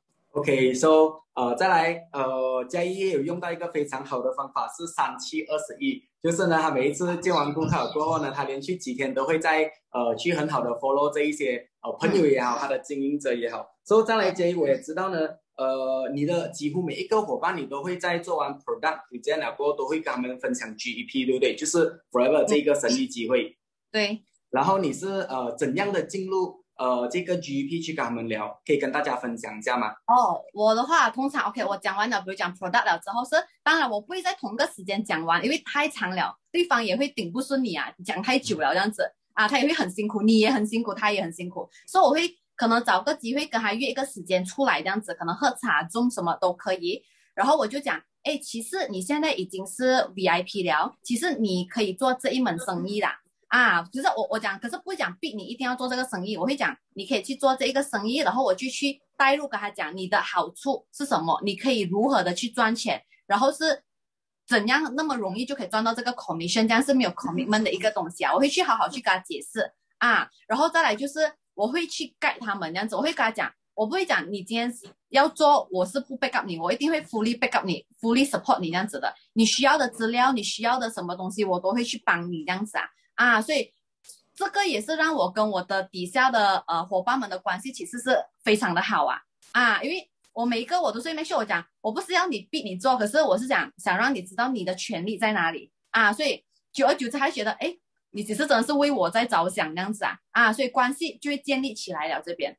S1: OK，so 再来嘉义也有用到一个非常好的方法是3721，就是呢他每一次见完顾客过后呢，他连续几天都会在去很好的 follow 这一些朋友也好，他的经营者也好。所以再来嘉义我也知道呢，你的几乎每一个伙伴你都会在做完 product 你这样了过后都会跟他们分享 GEP， 对不对？就是 Forever 这个生意机会。
S2: 对。
S1: 然后你是怎样的进入这个 GEP 去跟他们聊，可以跟大家分享一下吗？
S2: 我的话通常 OK， 我讲完了，比如讲 product 了之后当然我不会在同个时间讲完，因为太长了，对方也会顶不顺你讲太久了这样子他也会很辛苦，你也很辛苦，他也很辛苦，所以我会可能找个机会跟他约一个时间出来这样子，可能喝茶中什么都可以，然后我就讲其实你现在已经是 VIP 了，其实你可以做这一门生意啦就是我讲，可是不会讲逼你一定要做这个生意，我会讲你可以去做这一个生意，然后我就去带入跟他讲你的好处是什么，你可以如何的去赚钱，然后是怎样那么容易就可以赚到这个 commission， 这样是没有 commitment 的一个东西我会去好好去跟他解释然后再来就是我会去 guide 他们这样子，我会跟他讲，我不会讲你今天要做，我是不 back up 你，我一定会 fully back up 你 fully support 你这样子的，你需要的资料，你需要的什么东西我都会去帮你这样子所以这个也是让我跟我的底下的伙伴们的关系其实是非常的好因为我每一个我都是make sure我讲，我不是要你逼你做，可是我是想让你知道你的权利在哪里所以久而久之还觉得你只是真的是为我在着想这样子所以关系就会建立起来了这边。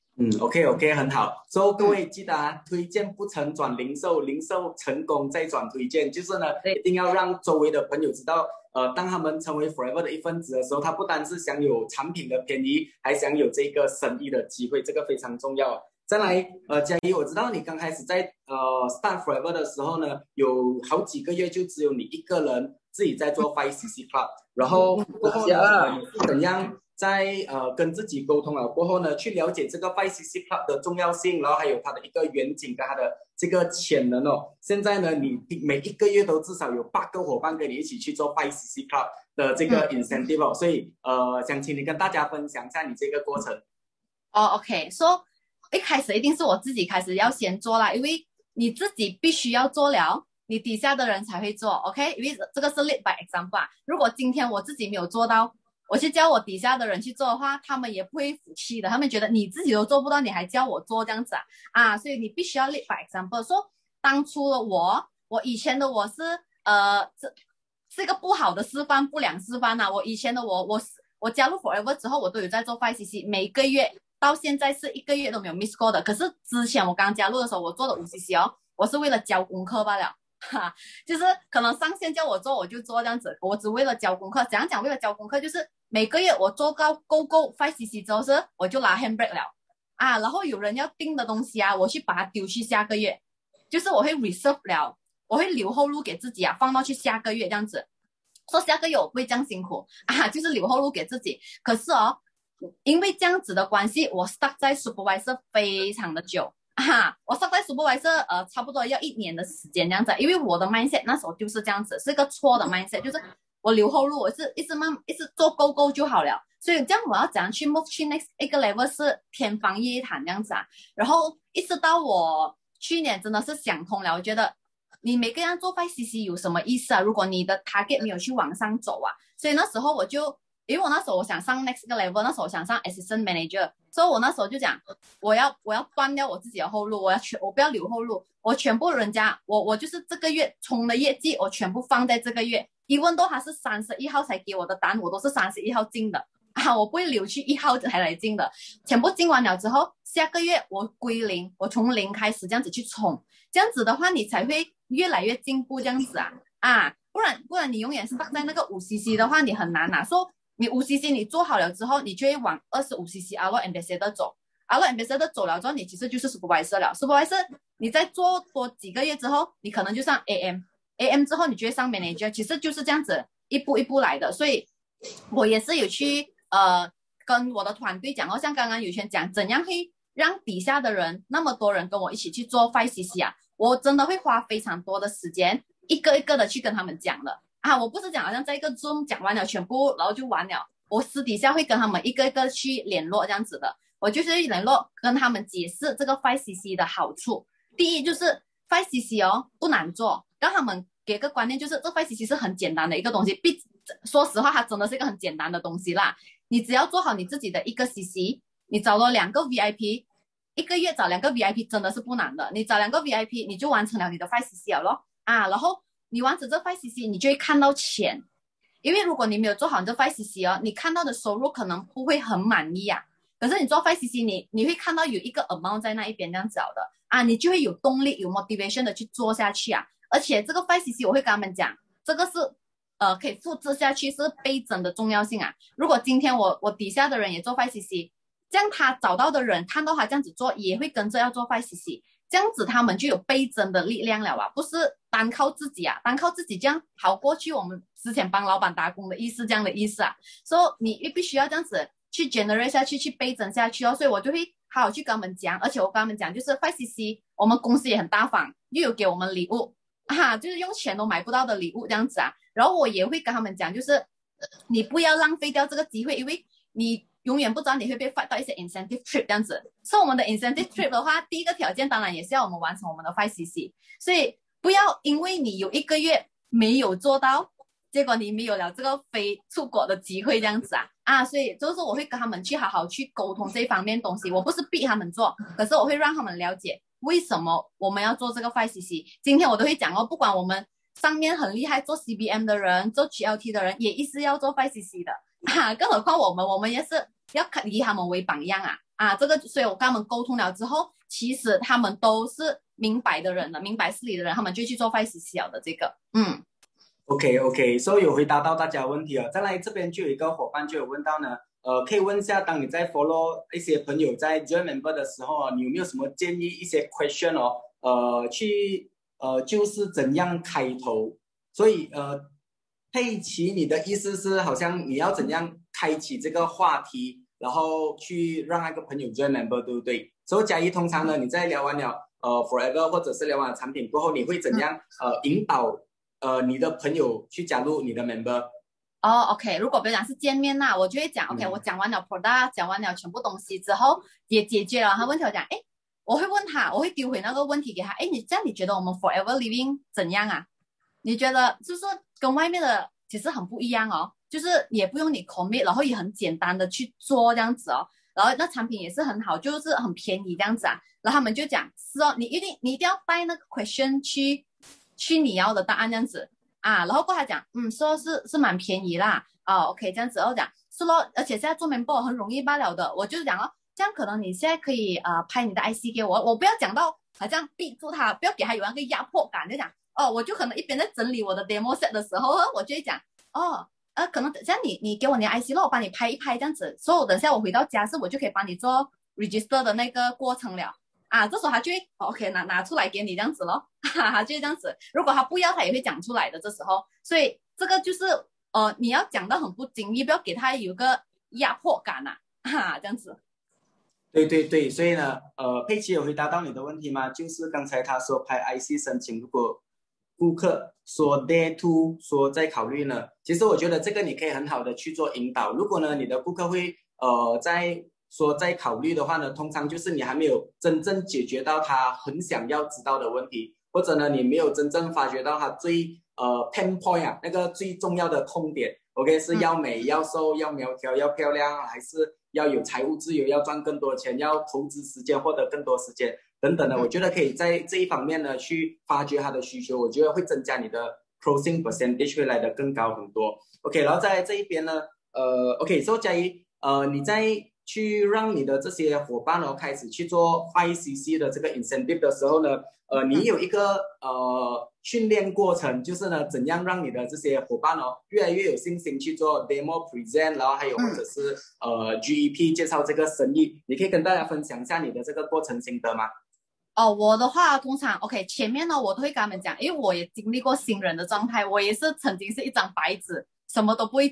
S1: OK， 很好。所以各位记得推荐不成转零售，零售成功再转推荐，就是呢，一定要让周围的朋友知道，当他们成为 Forever 的一份子的时候，他不单是享有产品的便宜，还享有这个生意的机会，这个非常重要。再来，嘉怡，我知道你刚开始在start Forever 的时候呢，有好几个月就只有你一个人自己在做 5cc Club， 然后过后呢，你是怎样在跟自己沟通了过后呢，去了解这个 5cc Club 的重要性，然后还有它的一个远景跟它的这个潜能现在呢，你每一个月都至少有8个伙伴跟你一起去做 5cc Club 的这个 incentive所以想请你跟大家分享一下你这个过程。
S2: OK，so 一开始一定是我自己开始要先做啦，因为你自己必须要做了，你底下的人才会做 OK， 因为这个是 lead by example 如果今天我自己没有做到，我去教我底下的人去做的话，他们也不会服气的，他们觉得你自己都做不到，你还教我做这样子所以你必须要 lead by example。 说当初的我以前的我是是一个不好的示范，不良示范我以前的我加入 Forever 之后，我都有在做 5cc， 每个月到现在是1个月都没有 miss 过的。可是之前我刚加入的时候，我做的5cc我是为了交功课罢了就是可能上线叫我做我就做这样子，我只为了交功课。怎样讲为了交功课，就是每个月我做到够 5cc 之后我就拿 handbrake 了然后有人要订的东西我去把它丢去下个月，就是我会 reserve 了，我会留后路给自己放到去下个月这样子，说下个月我不会这样辛苦就是留后路给自己。可是因为这样子的关系，我 stuck 在 supervisor 非常的久我 stuck 在 supervisor 差不多要1年的时间这样子，因为我的 mindset 那时候就是这样子，是一个错的 mindset， 就是我留后路，我是一直做够就好了。所以这样我要怎样去 move 去 next 一个 level 是天方夜谭这样子然后一直到我去年真的是想通了，我觉得你每个人做 5cc 有什么意思如果你的 target 没有去往上走所以那时候我就，因为我那时候我想上 next 个 level， 那时候我想上 assistant manager， 所以我那时候就讲我要断掉我自己的后路，我不要留后路，我全部人家我就是这个月冲的业绩我全部放在这个月，even though他是31号才给我的单，我都是31号进的我不会留去1号才来进的，全部进完了之后，下个月我归零，我从0开始这样子去冲，这样子的话你才会越来越进步这样子不然你永远是放在那个5cc 的话，你很难说你5cc 你做好了之后，你就会往25cc Alo Ambassador 走，Alo Ambassador 走了之后，你其实就是 Supervisor 了。Supervisor 你再做多几个月之后，你可能就上 AM 之后你就会上 Manager， 其实就是这样子一步一步来的。所以我也是有去跟我的团队讲像刚刚有权讲怎样会让底下的人那么多人跟我一起去做 5cc 啊，我真的会花非常多的时间，一个一个的去跟他们讲了啊。我不是讲好像在一个 Zoom 讲完了全部，然后就完了。我私底下会跟他们一个一个去联络这样子的，我就是联络跟他们解释这个 5cc 的好处。第一就是 5cc 哦不难做，让他们给个观念，就是这 5cc 是很简单的一个东西，说实话它真的是一个很简单的东西啦。你只要做好你自己的一个 cc， 你找了2个 VIP， 一个月找2个 VIP 真的是不难的，你找2个 VIP 你就完成了你的 5cc 了咯啊。然后你完成这 5cc 你就会看到钱，因为如果你没有做好你这 5cc 哦，你看到的收入可能不会很满意啊。可是你做 5cc 你会看到有一个 amount 在那一边这样子的啊，你就会有动力有 motivation 的去做下去啊。而且这个 5cc 我会跟他们讲，这个是可以复制下去，是倍增的重要性啊。如果今天我底下的人也做 5cc， 这样他找到的人看到他这样子做也会跟着要做 5cc， 这样子他们就有倍增的力量了啊，不是单靠自己啊，单靠自己这样好过去我们之前帮老板打工的意思，这样的意思啊。所以你必须要这样子去 generate 下去，去倍增下去哦。所以我就会好好去跟他们讲，而且我跟他们讲就是 5cc 我们公司也很大方，又有给我们礼物啊，就是用钱都买不到的礼物这样子啊。然后我也会跟他们讲，就是你不要浪费掉这个机会，因为你永远不知道你会被发到一些 incentive trip 这样子。所以我们的 incentive trip 的话，第一个条件当然也是要我们完成我们的 5cc， 所以不要因为你有1个月没有做到，结果你没有了这个飞出国的机会这样子啊。所以就是我会跟他们去好好去沟通这一方面东西，我不是逼他们做，可是我会让他们了解为什么我们要做这个 5cc。 今天我都会讲哦，不管我们上面很厉害做 CBM 的人，做 GLT 的人也一直要做 5cc 的啊，更何况我们也是要以他们为榜样啊。这个所以我跟他们沟通了之后，其实他们都是明白的人了，明白事理的人，他们就去做 5cc 了的这个
S1: OK， 所以有回答到大家的问题了。再来这边就有一个伙伴就有问到呢，可以问一下，当你在 follow 一些朋友在 join member 的时候，你有没有什么建议一些 question 哦？就是怎样开头？所以佩奇，你的意思是好像你要怎样开启这个话题，然后去让那个朋友 join member， 对不对？所以嘉怡，通常呢，你在聊完了Forever 或者是聊完了产品过后，你会怎样引导你的朋友去加入你的 member？
S2: OK， 如果比如讲是见面啦，我就会讲 OK，我讲完了 product， 讲完了全部东西之后，也解决了他问题，我讲我会问他，我会丢回那个问题给他，你这样你觉得我们 Forever Living 怎样啊？你觉得就是跟外面的其实很不一样哦，就是也不用你 commit， 然后也很简单的去做这样子哦，然后那产品也是很好，就是很便宜这样子啊。然后他们就讲是哦，你一定要带那个 question 去你要的答案这样子啊。然后过他讲说是蛮便宜啦OK 这样子，然后讲是咯，而且现在做 member 很容易罢了的，我就讲哦，这样可能你现在可以拍你的 IC 给我，我不要讲到好像逼住他，不要给他有那个压迫感，就讲我就可能一边在整理我的 demo set 的时候，我就会讲可能等下你给我你的 IC 咯，我帮你拍一拍这样子，所以我等下我回到家是我就可以帮你做 register 的那个过程了啊。这时候他就会OK 拿出来给你这样子咯，他就会这样子。如果他不要，他也会讲出来的这时候，所以这个就是你要讲到很不经意，不要给他有个压迫感这样子。
S1: 对，所以呢，佩奇有回答到你的问题吗？就是刚才他说拍 IC 申请，如果顾客说 day two 说再考虑呢，其实我觉得这个你可以很好的去做引导。如果呢你的顾客会再考虑的话呢，通常就是你还没有真正解决到他很想要知道的问题，或者呢你没有真正发掘到他最pain point 那个最重要的痛点。OK， 是要美、要瘦、要苗条、要漂亮，还是要有财务自由、要赚更多钱、要投资时间、获得更多时间等等的。我觉得可以在这一方面呢去发掘他的需求，我觉得会增加你的 closing percentage 会来得更高很多。OK， 然后在这一边呢，OK， 所以嘉怡，你在去让你的这些伙伴开始去做 5cc 的这个 incentive 的时候呢，你有一个训练过程，就是呢怎样让你的这些伙伴越来越有信心去做 demo present， 然后还有或者是GEP 介绍这个生意，你可以跟大家分享一下你的这个过程心得吗？
S2: 我的话通常 OK 前面呢我都会跟他们讲，因为我也经历过新人的状态，我也是曾经是一张白纸，什么都不会讲，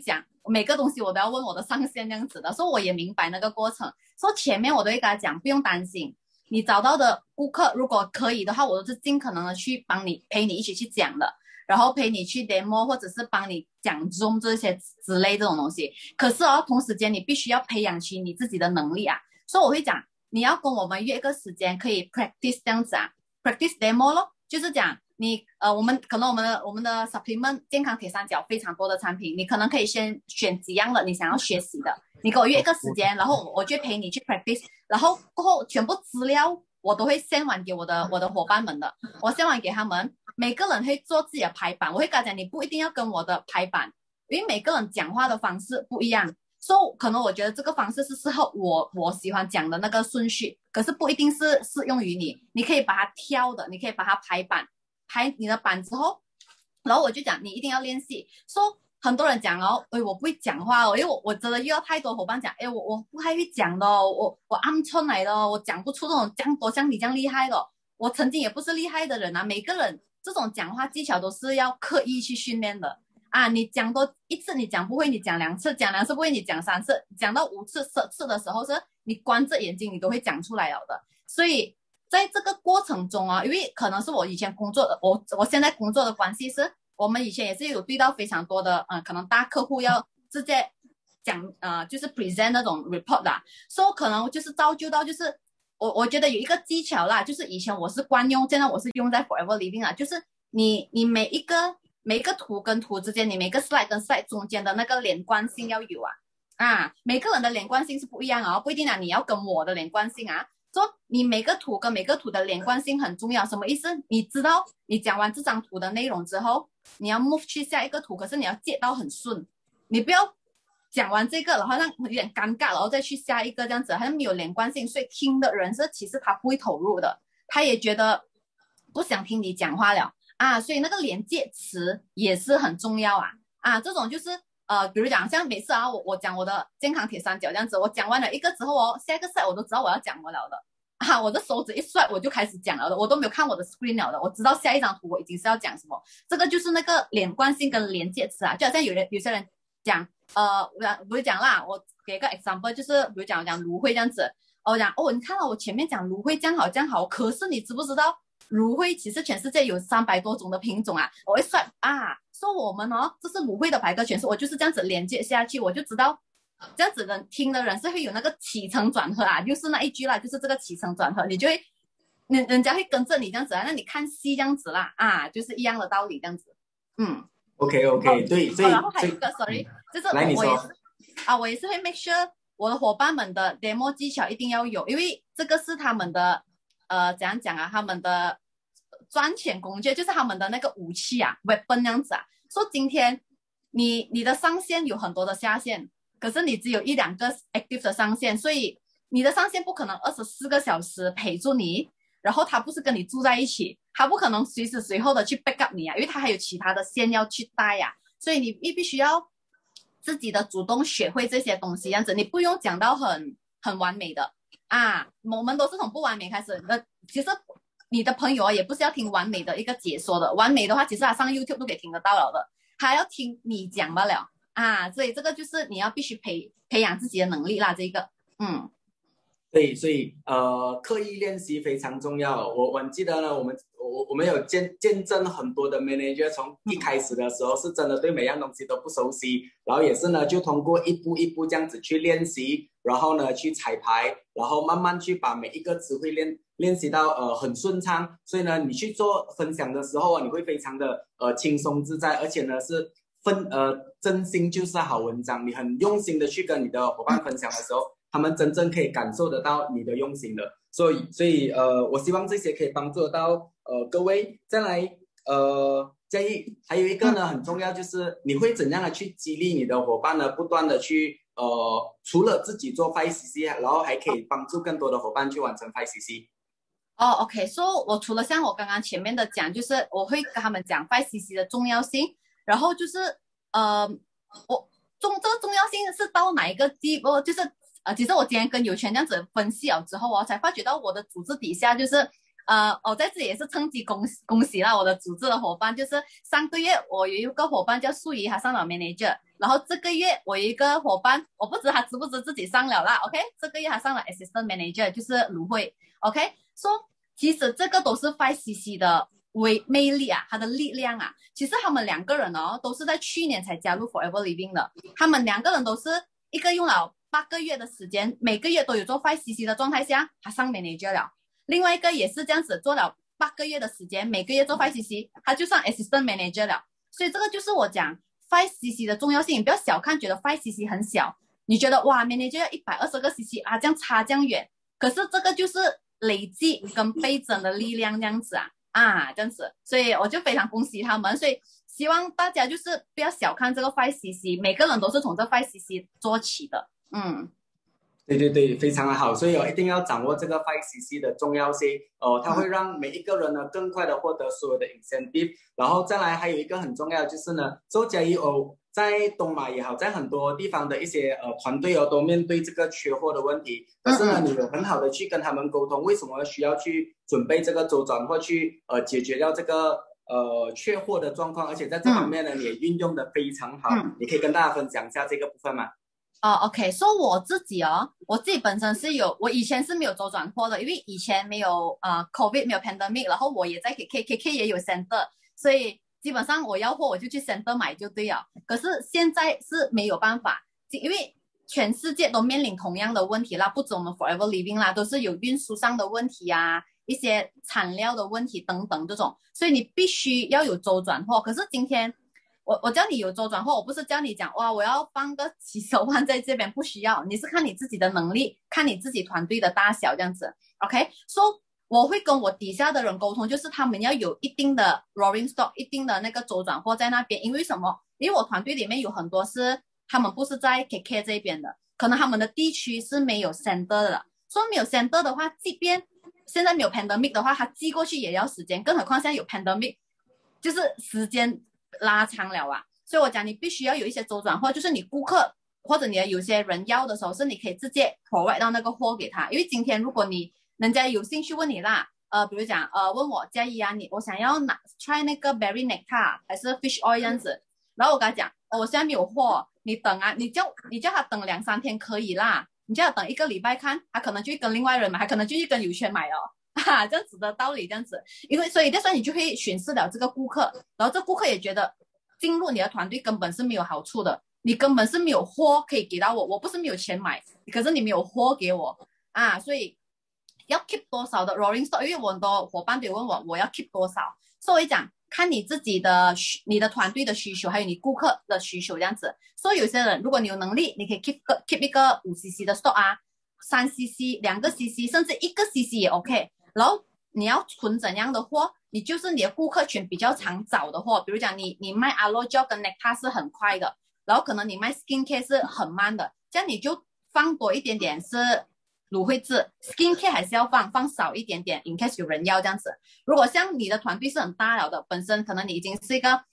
S2: 每个东西我都要问我的上线这样子的，所以我也明白那个过程。所以前面我都会跟他讲，不用担心，你找到的顾客如果可以的话，我都是尽可能的去帮你陪你一起去讲的，然后陪你去 demo 或者是帮你讲 Zoom 这些之类这种东西。可是哦，同时间你必须要培养起你自己的能力啊，所以我会讲你要跟我们约一个时间可以 practice 这样子啊 ，practice demo 咯，就是讲你我们可能我们的 supplement 健康铁三角非常多的产品，你可能可以先选几样的你想要学习的，你给我约一个时间，然后我就陪你去 practice， 然后过后全部资料我都会send完给我的伙伴们的，我send完给他们，每个人会做自己的排版，我会跟他讲你不一定要跟我的排版，因为每个人讲话的方式不一样。所以可能我觉得这个方式是适合我喜欢讲的那个顺序，可是不一定是适用于你。你可以把它挑的，你可以把它排版，排你的版之后，然后我就讲你一定要练习。说很多人讲哦，哎，我不会讲话哦，因为我真的遇到太多伙伴讲，哎，我不太会讲的哦，我鹌鹑来的哦，我讲不出这种像你这样厉害的哦。我曾经也不是厉害的人啊，每个人这种讲话技巧都是要刻意去训练的。啊，你讲多一次你讲不会，你讲两次，讲两次不会，你讲三次，讲到5次、10次的时候，是你关着眼睛你都会讲出来了的。所以在这个过程中啊，因为可能是我以前工作的，我现在工作的关系是，我们以前也是有对到非常多的可能大客户要直接讲就是 present 那种 report 啦，所以可能就是造就到就是我觉得有一个技巧啦，就是以前我是惯用，现在我是用在 Forever Living 啦，就是你每一个图跟图之间，你每个 slide 跟 slide 中间的那个连贯性要有每个人的连贯性是不一样啊，不一定啊，你要跟我的连贯性啊，说你每个图跟每个图的连贯性很重要，什么意思？你知道你讲完这张图的内容之后，你要 move 去下一个图，可是你要接到很顺，你不要讲完这个，然后好像有点尴尬，然后再去下一个这样子，好像没有连贯性，所以听的人是其实他不会投入的，他也觉得不想听你讲话了。所以那个连接词也是很重要这种就是比如讲像每次我讲我的健康铁三角这样子，我讲完了一个之后哦，下一个 set 我都知道我要讲什么了的我的手指一甩我就开始讲了的，我都没有看我的 screen 了的，我知道下一张图我已经是要讲什么，这个就是那个连贯性跟连接词就好像有些人讲不是讲啦，我给个 example 就是比如讲芦荟这样子，我讲你看到我前面讲芦荟这样好，可是你知不知道芦荟其实全世界有300多种的品种我会算说我们这是芦荟的百科全书，我就是这样子连接下去，我就知道这样子人听的人是会有那个起承转合就是那一句啦，就是这个起承转合，你就会人家会跟着你这样子那你看戏这样子啦就是一样的道理这样子。
S1: OK， 对，所以
S2: 然后还有一个 sorry， 就是我也是会 make sure 我的伙伴们的 demo 技巧一定要有，因为这个是他们的怎样讲他们的赚钱工具，就是他们的那个武器weapon 这样子说今天你的上线有很多的下线，可是你只有1-2个 active 的上线，所以你的上线不可能24个小时陪住你，然后他不是跟你住在一起，他不可能随时随后的去 back up 你因为他还有其他的线要去带所以你必须要自己的主动学会这些东西，这样子你不用讲到很完美的我们都是从不完美开始。其实你的朋友也不是要听完美的一个解说的，完美的话其实他上 YouTube 都可以听得到了的，他要听你讲罢了所以这个就是你要必须培养自己的能力啦，这个
S1: 对，所以刻意练习非常重要。我记得呢，我们有见证很多的 manager 从一开始的时候是真的对每样东西都不熟悉，然后也是呢就通过一步一步这样子去练习，然后呢去彩排，然后慢慢去把每一个词汇练习到很顺畅。所以呢你去做分享的时候你会非常的轻松自在，而且呢是真心就是好文章，你很用心的去跟你的伙伴分享的时候，他们真正可以感受得到你的用心的。所以我希望这些可以帮助得到各位。再来嘉义还有一个呢很重要，就是你会怎样的去激励你的伙伴呢，不断的去除了自己做 5cc 然后还可以帮助更多的伙伴去完成 5cc。
S2: OK， so 我除了像我刚刚前面的讲，就是我会跟他们讲 5cc 的重要性，然后就是这个重要性是到哪一个地步，就是其实我今天跟有权这样子分析了之后才发觉到我的组织底下就是我在这里也是趁机恭喜啦，我的组织的伙伴，就是上个月我有一个伙伴叫素怡，他上了 manager，然后这个月我有一个伙伴，我不知他知不知自己上了啦，OK，这个月他上了 assistant manager，就是卢慧，OK，so 其实这个都是 5cc 的魅力啊，它的力量啊，其实他们两个人哦，都是在去年才加入 Forever Living 的，他们两个人都是一个用了8个月的时间，每个月都有做 5cc 的状态下，他上 manager 了。另外一个也是这样子做了8个月的时间，每个月做 5cc， 他就上 assistant manager 了。所以这个就是我讲 5cc 的重要性，你不要小看，觉得 5cc 很小，你觉得哇 manager 要120个 cc 啊，这样差这样远，可是这个就是累积跟倍增的力量这样子这样子，所以我就非常恭喜他们，所以希望大家就是不要小看这个 5cc， 每个人都是从这 5cc 做起的，
S1: 对对对，非常的好，所以一定要掌握这个 5cc 的重要性，它会让每一个人呢更快的获得所有的 incentive， 然后再来还有一个很重要的就是呢，周嘉怡在东马也好，在很多地方的一些团队都面对这个缺货的问题，可是呢，你有很好的去跟他们沟通，为什么需要去准备这个周转或去解决掉这个缺货的状况，而且在这方面呢，你也运用的非常好，你可以跟大家分享一下这个部分吗
S2: ？OK， 所以我自己本身是我以前是没有周转货的，因为以前没有COVID 没有 pandemic， 然后我也在 KK 也有 center， 所以基本上我要货我就去 center 买就对了。可是现在是没有办法，因为全世界都面临同样的问题啦，不止我们 Forever Living 啦，都是有运输上的问题一些产料的问题等等这种，所以你必须要有周转货。可是今天我叫你有周转货，我不是叫你讲哇，我要放个几十万在这边，不需要，你是看你自己的能力，看你自己团队的大小这样子。OK，so 我会跟我底下的人沟通，就是他们要有一定的 rolling stock， 一定的那个周转货在那边。因为什么？因为我团队里面有很多是他们不是在 KK 这边的，可能他们的地区是没有 center 的，所以没有 center 的话，即便现在没有 pandemic 的话，他寄过去也要时间，更何况现在有 pandemic， 就是时间拉长了所以我讲你必须要有一些周转货，就是你顾客或者你的有些人要的时候，是你可以直接 provide 到那个货给他。因为今天如果人家有兴趣问你啦，比如讲问我嘉怡我想要try 那个 berry nectar 还是 fish oil 这样子，然后我跟他讲我现在没有货，你等你叫他等2-3天可以啦，你叫他等1个礼拜看，他可能就去跟另外人买，他可能就去跟有权买这样子的道理这样子。因为所以你就会巡视了这个顾客，然后这顾客也觉得进入你的团队根本是没有好处的，你根本是没有货可以给到我不是没有钱买，可是你没有货给我所以要 keep 多少的 rolling stock， 因为我很多伙伴都问我要 keep 多少，所以讲看你自己的你的团队的需求，还有你顾客的需求这样子。所以有些人如果你有能力，你可以 keep 一个5cc 的 stock3cc 2个 cc 甚至1个 cc 也 OK。然后你要存怎样的货，你就是你的顾客群比较常找的货，比如讲你卖 Aloe Gel 跟 Nectar 是很快的，然后可能你卖 Skincare 是很慢的，这样你就放多一点点是芦荟汁 ，Skincare 还是要放少一点点 ，in case 有人要这样子。如果像你的团队是很大了的，本身可能你已经是一个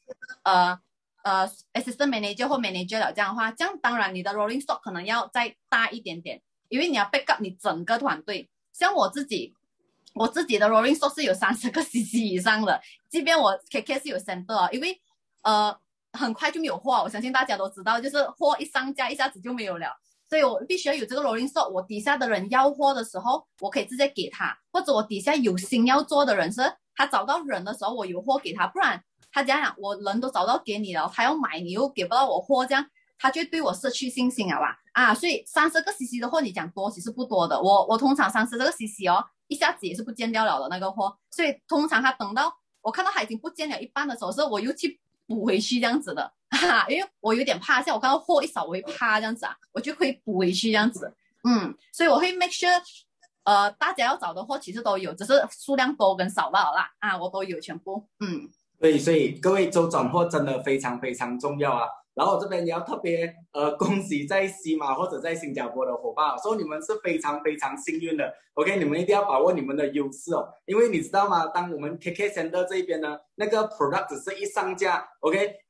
S2: assistant manager 或 manager 了这样的话，这样当然你的 rolling stock 可能要再大一点点，因为你要 back up 你整个团队。像我自己的 rolling stock 是有30个 cc 以上的，即便我 KK 是有 center， 因为很快就没有货，我相信大家都知道，就是货一上架一下子就没有了，所以我必须要有这个 rolling stock， 我底下的人要货的时候，我可以直接给他，或者我底下有心要做的人是他找到人的时候，我有货给他，不然他讲我人都找到给你了，他要买你又给不到我货，这样他就对我失去信心了所以30个 cc 的货你讲多其实不多的，我通常30个 cc 一下子也是不见掉了的那个货，所以通常他等到我看到他已经不见了一半的时候，是我又去补回去这样子的因为我有点怕，像我看到货一少我会怕这样子我就会补回去这样子所以我会 make sure 大家要找的货其实都有，只是数量多跟少罢了啦我都有全部
S1: 对，所以各位周转货真的非常非常重要然后我这边也要特别恭喜在西马或者在新加坡的伙伴，说你们是非常非常幸运的 ，OK， 你们一定要把握你们的优势因为你知道吗？当我们 KK Center 这一边呢，那个 product 只是一上架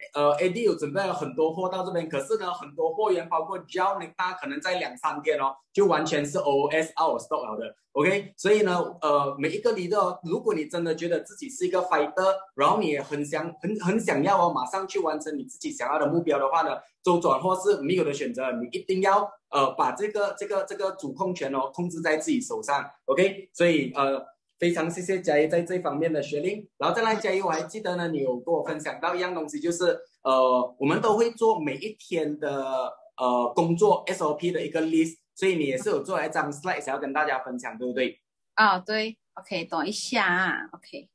S1: ，OK，AD 有准备了很多货到这边，可是呢，很多货源包括 Gel Nectar 可能在2-3天就完全是 OOS out of stock 了的。OK， 所以呢，每一个 leader，如果你真的觉得自己是一个 fighter， 然后你也很想要马上去完成你自己想要的目标的话呢，周转或是没有的选择，你一定要把这个主控权控制在自己手上。OK， 所以非常谢谢嘉怡在这方面的学令。然后再来，嘉怡，我还记得呢，你有跟我分享到一样东西，就是我们都会做每一天的工作 SOP 的一个 list。所以你也是有做一张 slide 想要跟大家分享，对不对？
S2: 啊，对 ，OK， 等一下啊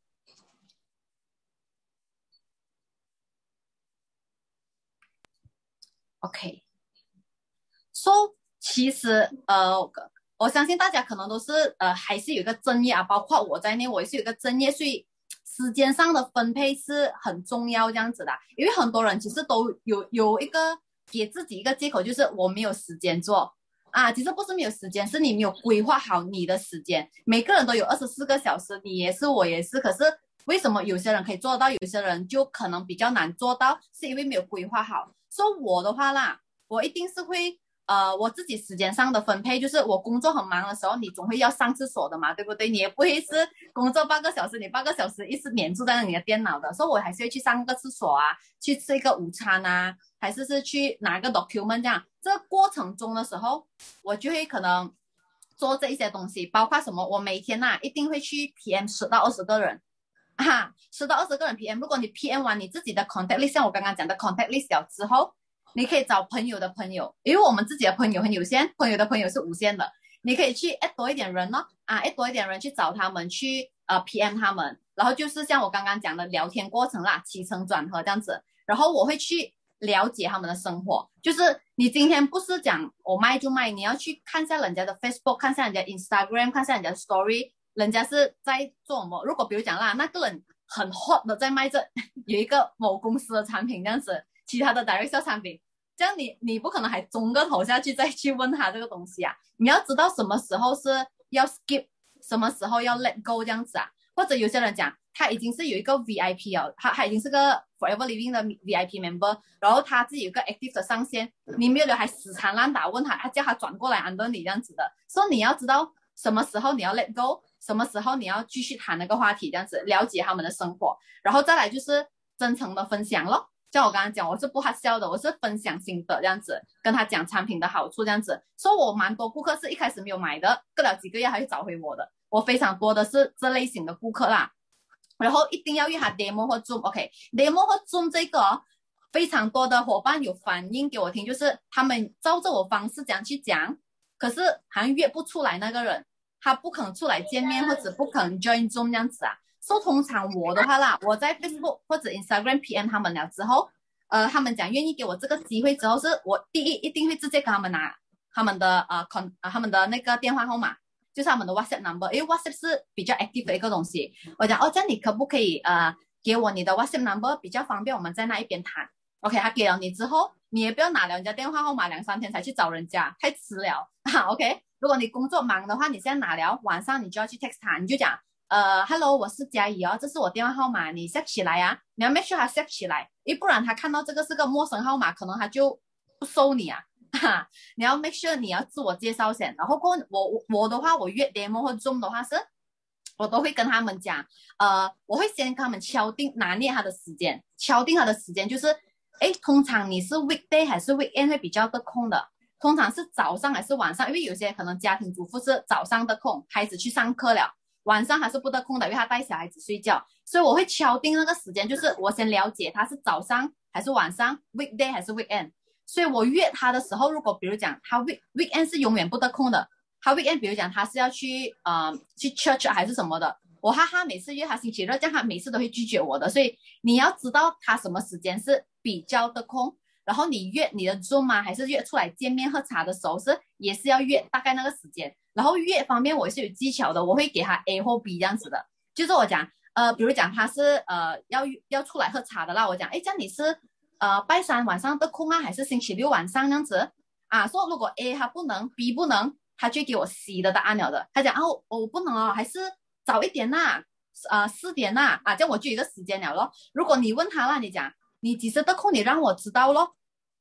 S2: ，OK，OK，So，其实我相信大家可能都是还是有一个正业啊，包括我在内，我也是有一个正业，所以时间上的分配是很重要这样子的。因为很多人其实都有一个给自己一个借口，就是我没有时间做。啊，其实不是没有时间，是你没有规划好你的时间。每个人都有24个小时，你也是，我也是。可是为什么有些人可以做到，有些人就可能比较难做到，是因为没有规划好。所以我的话啦，我一定是会我自己时间上的分配，就是我工作很忙的时候，你总会要上厕所的嘛，对不对？你也不会是工作8个小时，你8个小时一直黏住在你的电脑的，所以我还是会去上个厕所啊，去吃一个午餐啊，还是去拿个 document 这样。这个过程中的时候，我就会可能做这一些东西，包括什么？我每天一定会去 PM 10到20个人。10到20个人 PM， 如果你 PM 完你自己的 contact list， 像我刚刚讲的 contact list 了之后，你可以找朋友的朋友，因为我们自己的朋友很有限，朋友的朋友是无限的，你可以去 add 多一点人add 多一点人去找他们，去PM 他们，然后就是像我刚刚讲的聊天过程啦，起承转合这样子，然后我会去了解他们的生活，就是你今天不是讲我卖就卖，你要去看一下人家的 Facebook， 看一下人家 Instagram， 看一下人家的 Story， 人家是在做什么。如果比如讲啦，那个人很 hot 的在卖这有一个某公司的产品这样子，其他的 direct sale 产品，这样你不可能还中个头下去再去问他这个东西啊，你要知道什么时候是要 skip， 什么时候要 let go 这样子啊。或者有些人讲他已经是有一个 VIP 哦，他已经是个 Forever Living 的 VIP member， 然后他自己有个 active 的上线，你没有还死缠烂打问他叫他转过来 under 你这样子的，所以你要知道什么时候你要 let go， 什么时候你要继续谈那个话题这样子，了解他们的生活，然后再来就是真诚的分享咯。像我刚刚讲，我是不哈笑的，我是分享心得这样子，跟他讲产品的好处这样子，所以我蛮多顾客是一开始没有买的，过了几个月还会找回我的，我非常多的是这类型的顾客啦。然后一定要用他 demo 或 zoom，OK，demo 或 zoom 这个非常多的伙伴有反映给我听，就是他们照着我方式讲去讲，可是好像约不出来那个人，他不肯出来见面或者不肯 join zoom 这样子啊。所以通常我的话啦，我在 Facebook 或者 Instagram PM 他们了之后，他们讲愿意给我这个机会之后，是我第一一定会直接跟他们拿他们的他们的那个电话号码，就是他们的 WhatsApp number， 因为 WhatsApp 是比较 active 的一个东西。我讲这样你可不可以给我你的 WhatsApp number， 比较方便我们在那一边谈。OK， 他给了你之后，你也不要拿了人家电话号码2-3天才去找人家，太迟了。OK， 如果你工作忙的话，你现在拿了，晚上你就要去 text 他，你就讲。Hello， 我是嘉怡哦，这是我电话号码，你 set 起来啊，你要 make sure 他 set 起来，因为不然他看到这个是个陌生号码，可能他就不收你啊。你要 make sure 你要自我介绍先，然后过我的话，我约 demo 或 zoom 的话是，我都会跟他们讲，我会先跟他们敲定拿捏他的时间，敲定他的时间就是，通常你是 weekday 还是 weekend 会比较得空的？通常是早上还是晚上？因为有些可能家庭主妇是早上的空，孩子去上课了。晚上还是不得空的，因为他带小孩子睡觉，所以我会敲定那个时间，就是我先了解他是早上还是晚上 ，weekday 还是 weekend。所以我约他的时候，如果比如讲他 weekend 是永远不得空的，他 weekend 比如讲他是要去去 church 还是什么的，我每次约他星期日，这样他每次都会拒绝我的，所以你要知道他什么时间是比较得空。然后你约你的 Zoom 还是约出来见面喝茶的时候也是要约大概那个时间。然后约方面我也是有技巧的，我会给他 A 或 B 这样子的，就是我讲比如讲他是要出来喝茶的啦，我讲这样你是拜三晚上的空啊，还是星期六晚上这样子啊？说如果 A 他不能 B 不能，他就给我 C 的答案了的。他讲我不能哦，还是早一点呐，4点呐这样我就有一个时间了咯。如果你问他啦，你讲你几时得空，你让我知道咯。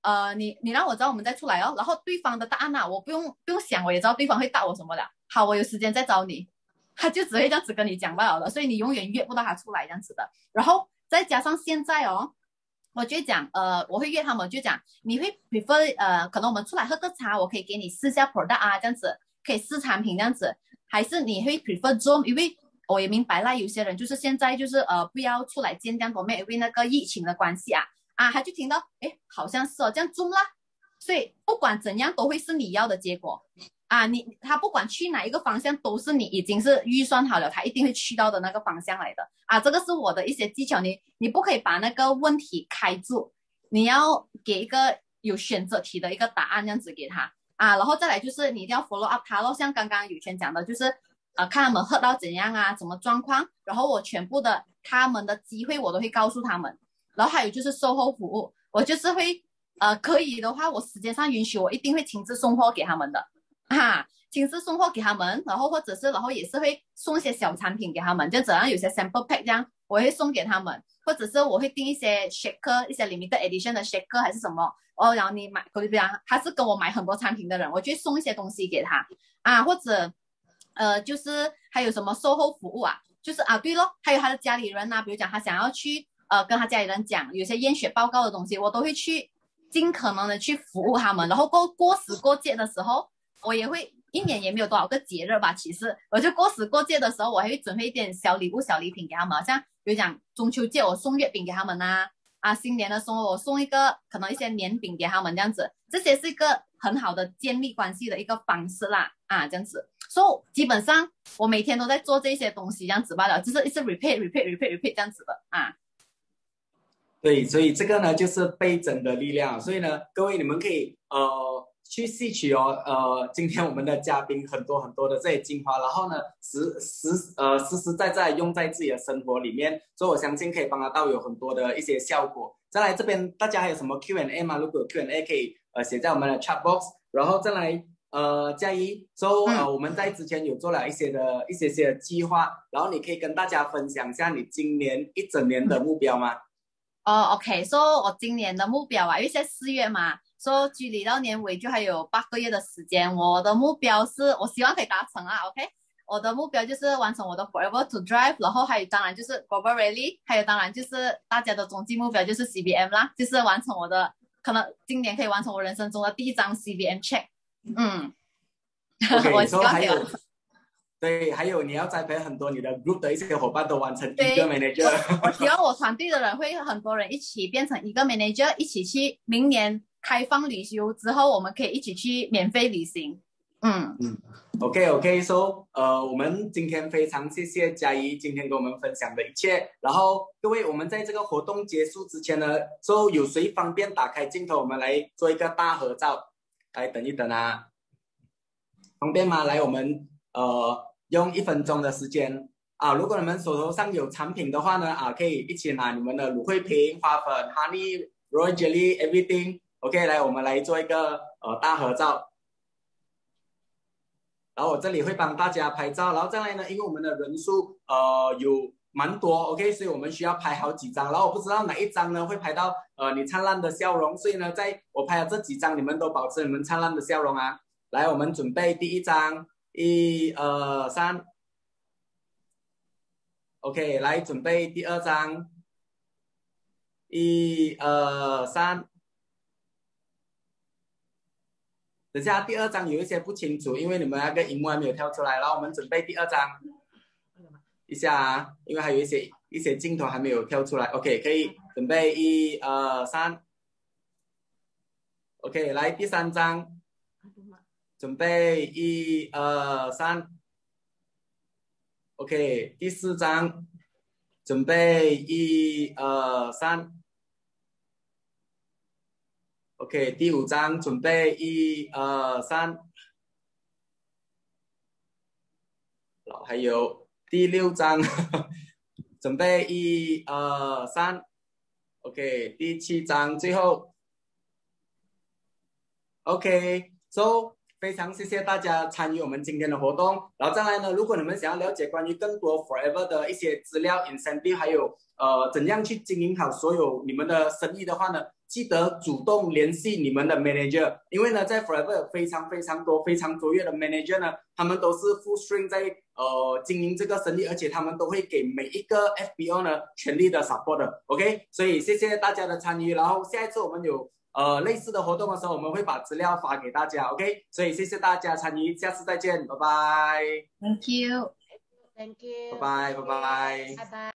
S2: 你让我知道我们再出来哦，然后对方的答案啊，我不用想，我也知道对方会答我什么的。好，我有时间再找你，他就只会这样子跟你讲罢了的，所以你永远约不到他出来这样子的。然后再加上现在哦，我就讲我会约他们，就讲你会 prefer 可能我们出来喝个茶，我可以给你试下 product 啊，这样子可以试产品这样子，还是你会 prefer Zoom，因为我也明白啦，有些人就是现在就是不要出来见这样多面，因为那个疫情的关系啊，他就听到哎好像是哦这样 Zoom 啦，所以不管怎样都会是你要的结果啊，他不管去哪一个方向都是你已经是预算好了，他一定会去到的那个方向来的啊，这个是我的一些技巧，你不可以把那个问题开住，你要给一个有选择题的一个答案这样子给他啊，然后再来就是你一定要 follow up 他咯，像刚刚有权讲的，就是看他们喝到怎样啊，什么状况，然后我全部的他们的机会我都会告诉他们，然后还有就是售后服务，我就是会可以的话，我时间上允许，我一定会亲自送货给他们的亲自送货给他们，然后或者是然后也是会送一些小产品给他们，就怎样有些 sample pack 这样，我会送给他们，或者是我会订一些 shaker， 一些 limited edition 的 shaker 还是什么哦，然后你买，比如他是跟我买很多产品的人，我就会送一些东西给他或者就是还有什么售后服务就是对咯，还有他的家里人比如讲他想要去跟他家里人讲有些验血报告的东西，我都会去尽可能的去服务他们，然后过时过节的时候，我也会一年也没有多少个节日吧，其实我就过时过节的时候，我还会准备一点小礼物小礼品给他们，像比如讲中秋节我送月饼给他们新年的时候我送一个可能一些年饼给他们这样子，这些是一个很好的建立关系的一个方式啦这样子，所以基本上我每天都在做这些东西这样子罢了，就是一直 repeat 这样子的
S1: 对，所以这个呢就是倍增的力量，所以呢各位你们可以去吸取今天我们的嘉宾很多很多的这些精华，然后呢实实在在用在自己的生活里面，所以我相信可以帮得到有很多的一些效果。再来这边大家还有什么 Q&A 吗？如果有 Q&A 可以写在我们的 chat box， 然后再来嘉怡我们在之前有做了一些的计划，然后你可以跟大家分享一下你今年一整年的目标吗
S2: ？OK， 我今年的目标因为现在4月嘛，距离到年尾就还有8个月的时间，我的目标是我希望可以达成OK， 我的目标就是完成我的 Forever to Drive， 然后还有当然就是 Global Rally， 还有当然就是大家的终极目标就是 CBM 啦，就是完成我的可能今年可以完成我人生中的第一张 CBM check。
S1: OK，
S2: 我希望可以完成。
S1: 对，还有你要栽培很多你的 group 的一些伙伴都完成一个 manager。
S2: 我希望我团队的人会很多人一起变成一个 manager， 一起去明年开放旅游之后，我们可以一起去免费旅行。
S1: OK， 我们今天非常谢谢嘉怡今天跟我们分享的一切。然后各位，我们在这个活动结束之前呢，有谁方便打开镜头，我们来做一个大合照？来等一等方便吗？来，我们用1分钟的时间如果你们手头上有产品的话呢可以一起拿你们的芦荟瓶、花粉、honey、royal jelly everything。OK， 来，我们来做一个大合照。然后我这里会帮大家拍照，然后再来呢，因为我们的人数有蛮多 ，OK， 所以我们需要拍好几张，然后我不知道哪一张呢会拍到你灿烂的笑容，所以呢，在我拍的这几张，你们都保持你们灿烂的笑容来，我们准备第一张，1、2、3 ，OK， 来准备第二张，1、2、3。等下第二张有一些不清楚，因为你们那个荧幕还没有跳出来，然后我们准备第二张，一下因为还有一些镜头还没有跳出来 ，OK， 可以准备1、2、3 ，OK， 来第三张，准备1、2、3 ，OK， 第四张，准备1、2、3。OK， 第5张准备1、2、3，然后还有第6张准备1、2、3 ，OK， 第7张最后 ，OK， 非常谢谢大家参与我们今天的活动。然后再来呢，如果你们想要了解关于更多 Forever 的一些资料 incentive， 还有怎样去经营好所有你们的生意的话呢， 记得主动联系你们的 manager， 因为呢，在 Forever 有非常多、非常卓越的 manager 呢，他们都是 full string 在经营这个生意，而且他们都会给每一个 FBO 呢全力的 support 的 ，OK， 所以谢谢大家的参与，然后下一次我们有类似的活动的时候，我们会把资料发给大家 ，OK， 所以谢谢大家参与，下次再见，拜拜
S2: Thank you.
S3: Thank you.
S1: 拜拜。
S3: Bye bye.